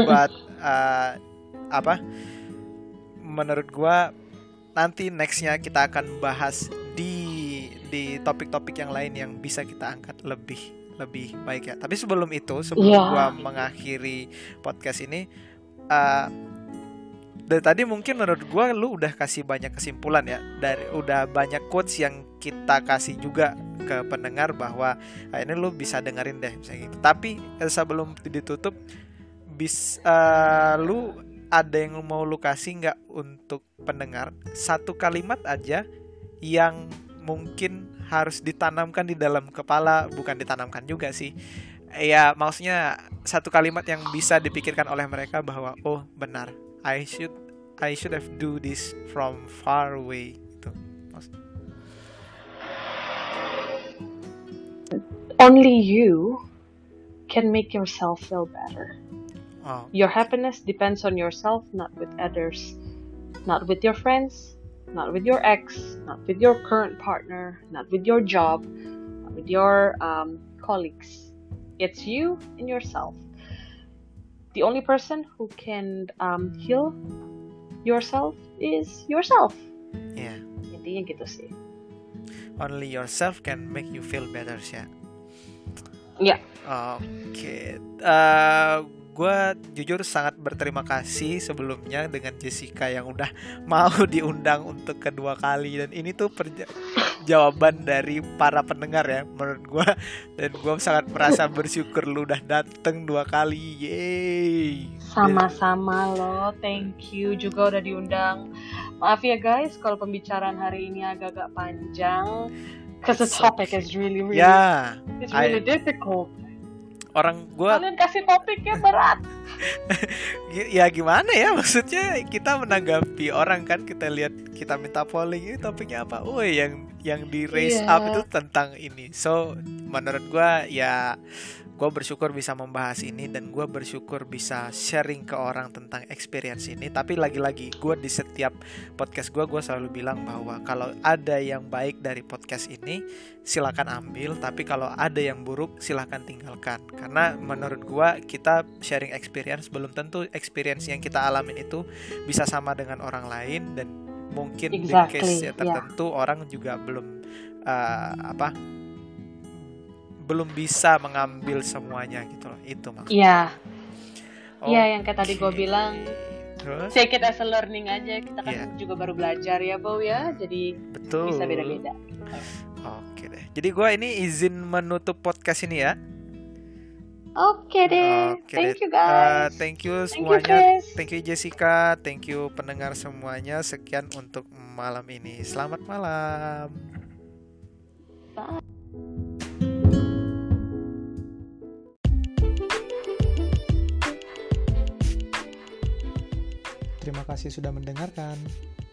menurut gue nanti nextnya kita akan bahas di topik-topik yang lain yang bisa kita angkat lebih baik ya. Tapi sebelum itu, gua mengakhiri podcast ini, dari tadi mungkin menurut gua lu udah kasih banyak kesimpulan ya, udah banyak quotes yang kita kasih juga ke pendengar bahwa ini lu bisa dengerin deh misalnya gitu. Tapi sebelum ditutup, lu ada yang mau lu kasih nggak untuk pendengar, satu kalimat aja yang mungkin harus ditanamkan di dalam kepala, bukan ditanamkan juga sih ya, maksudnya satu kalimat yang bisa dipikirkan oleh mereka bahwa oh benar, I should have do this from far away gitu. Only you can make yourself feel better. Your happiness depends on yourself, not with others, not with your friends, not with your ex, not with your current partner, not with your job, not with your colleagues. It's you and yourself. The only person who can heal yourself is yourself. Yeah. Intinya gitu sih. Only yourself can make you feel better ya. Yeah. Oke. Gue jujur sangat berterima kasih sebelumnya dengan Jessica yang udah mau diundang untuk kedua kali. Dan ini tuh jawaban dari para pendengar ya menurut gue. Dan gue sangat merasa bersyukur lu udah dateng 2 kali. Yeay. Sama-sama loh, thank you juga udah diundang. Maaf ya guys kalau pembicaraan hari ini agak-agak panjang, because the topic is really it's really difficult. Kalian kasih topiknya berat. Ya gimana ya, maksudnya kita menanggapi orang kan, kita lihat, kita minta polling ini topiknya apa, yang di raise up itu tentang ini. So menurut gue ya, gue bersyukur bisa membahas ini, dan gue bersyukur bisa sharing ke orang tentang experience ini. Tapi lagi-lagi gue di setiap podcast gue selalu bilang bahwa kalau ada yang baik dari podcast ini silakan ambil, tapi kalau ada yang buruk silakan tinggalkan. Karena menurut gue kita sharing experience, belum tentu experience yang kita alamin itu bisa sama dengan orang lain, dan mungkin di case tertentu orang juga belum belum bisa mengambil semuanya gitu loh. Itu maksudnya. Iya, yang kayak tadi gue bilang, take it as a learning aja. Kita kan juga baru belajar ya, Bow ya. Jadi bisa beda-beda. Oke deh. Jadi gue ini izin menutup podcast ini ya. Oke deh. Thank you guys. Thank you semuanya. Thank you Jessica. Thank you pendengar semuanya. Sekian untuk malam ini. Selamat malam. Bye. Terima kasih sudah mendengarkan.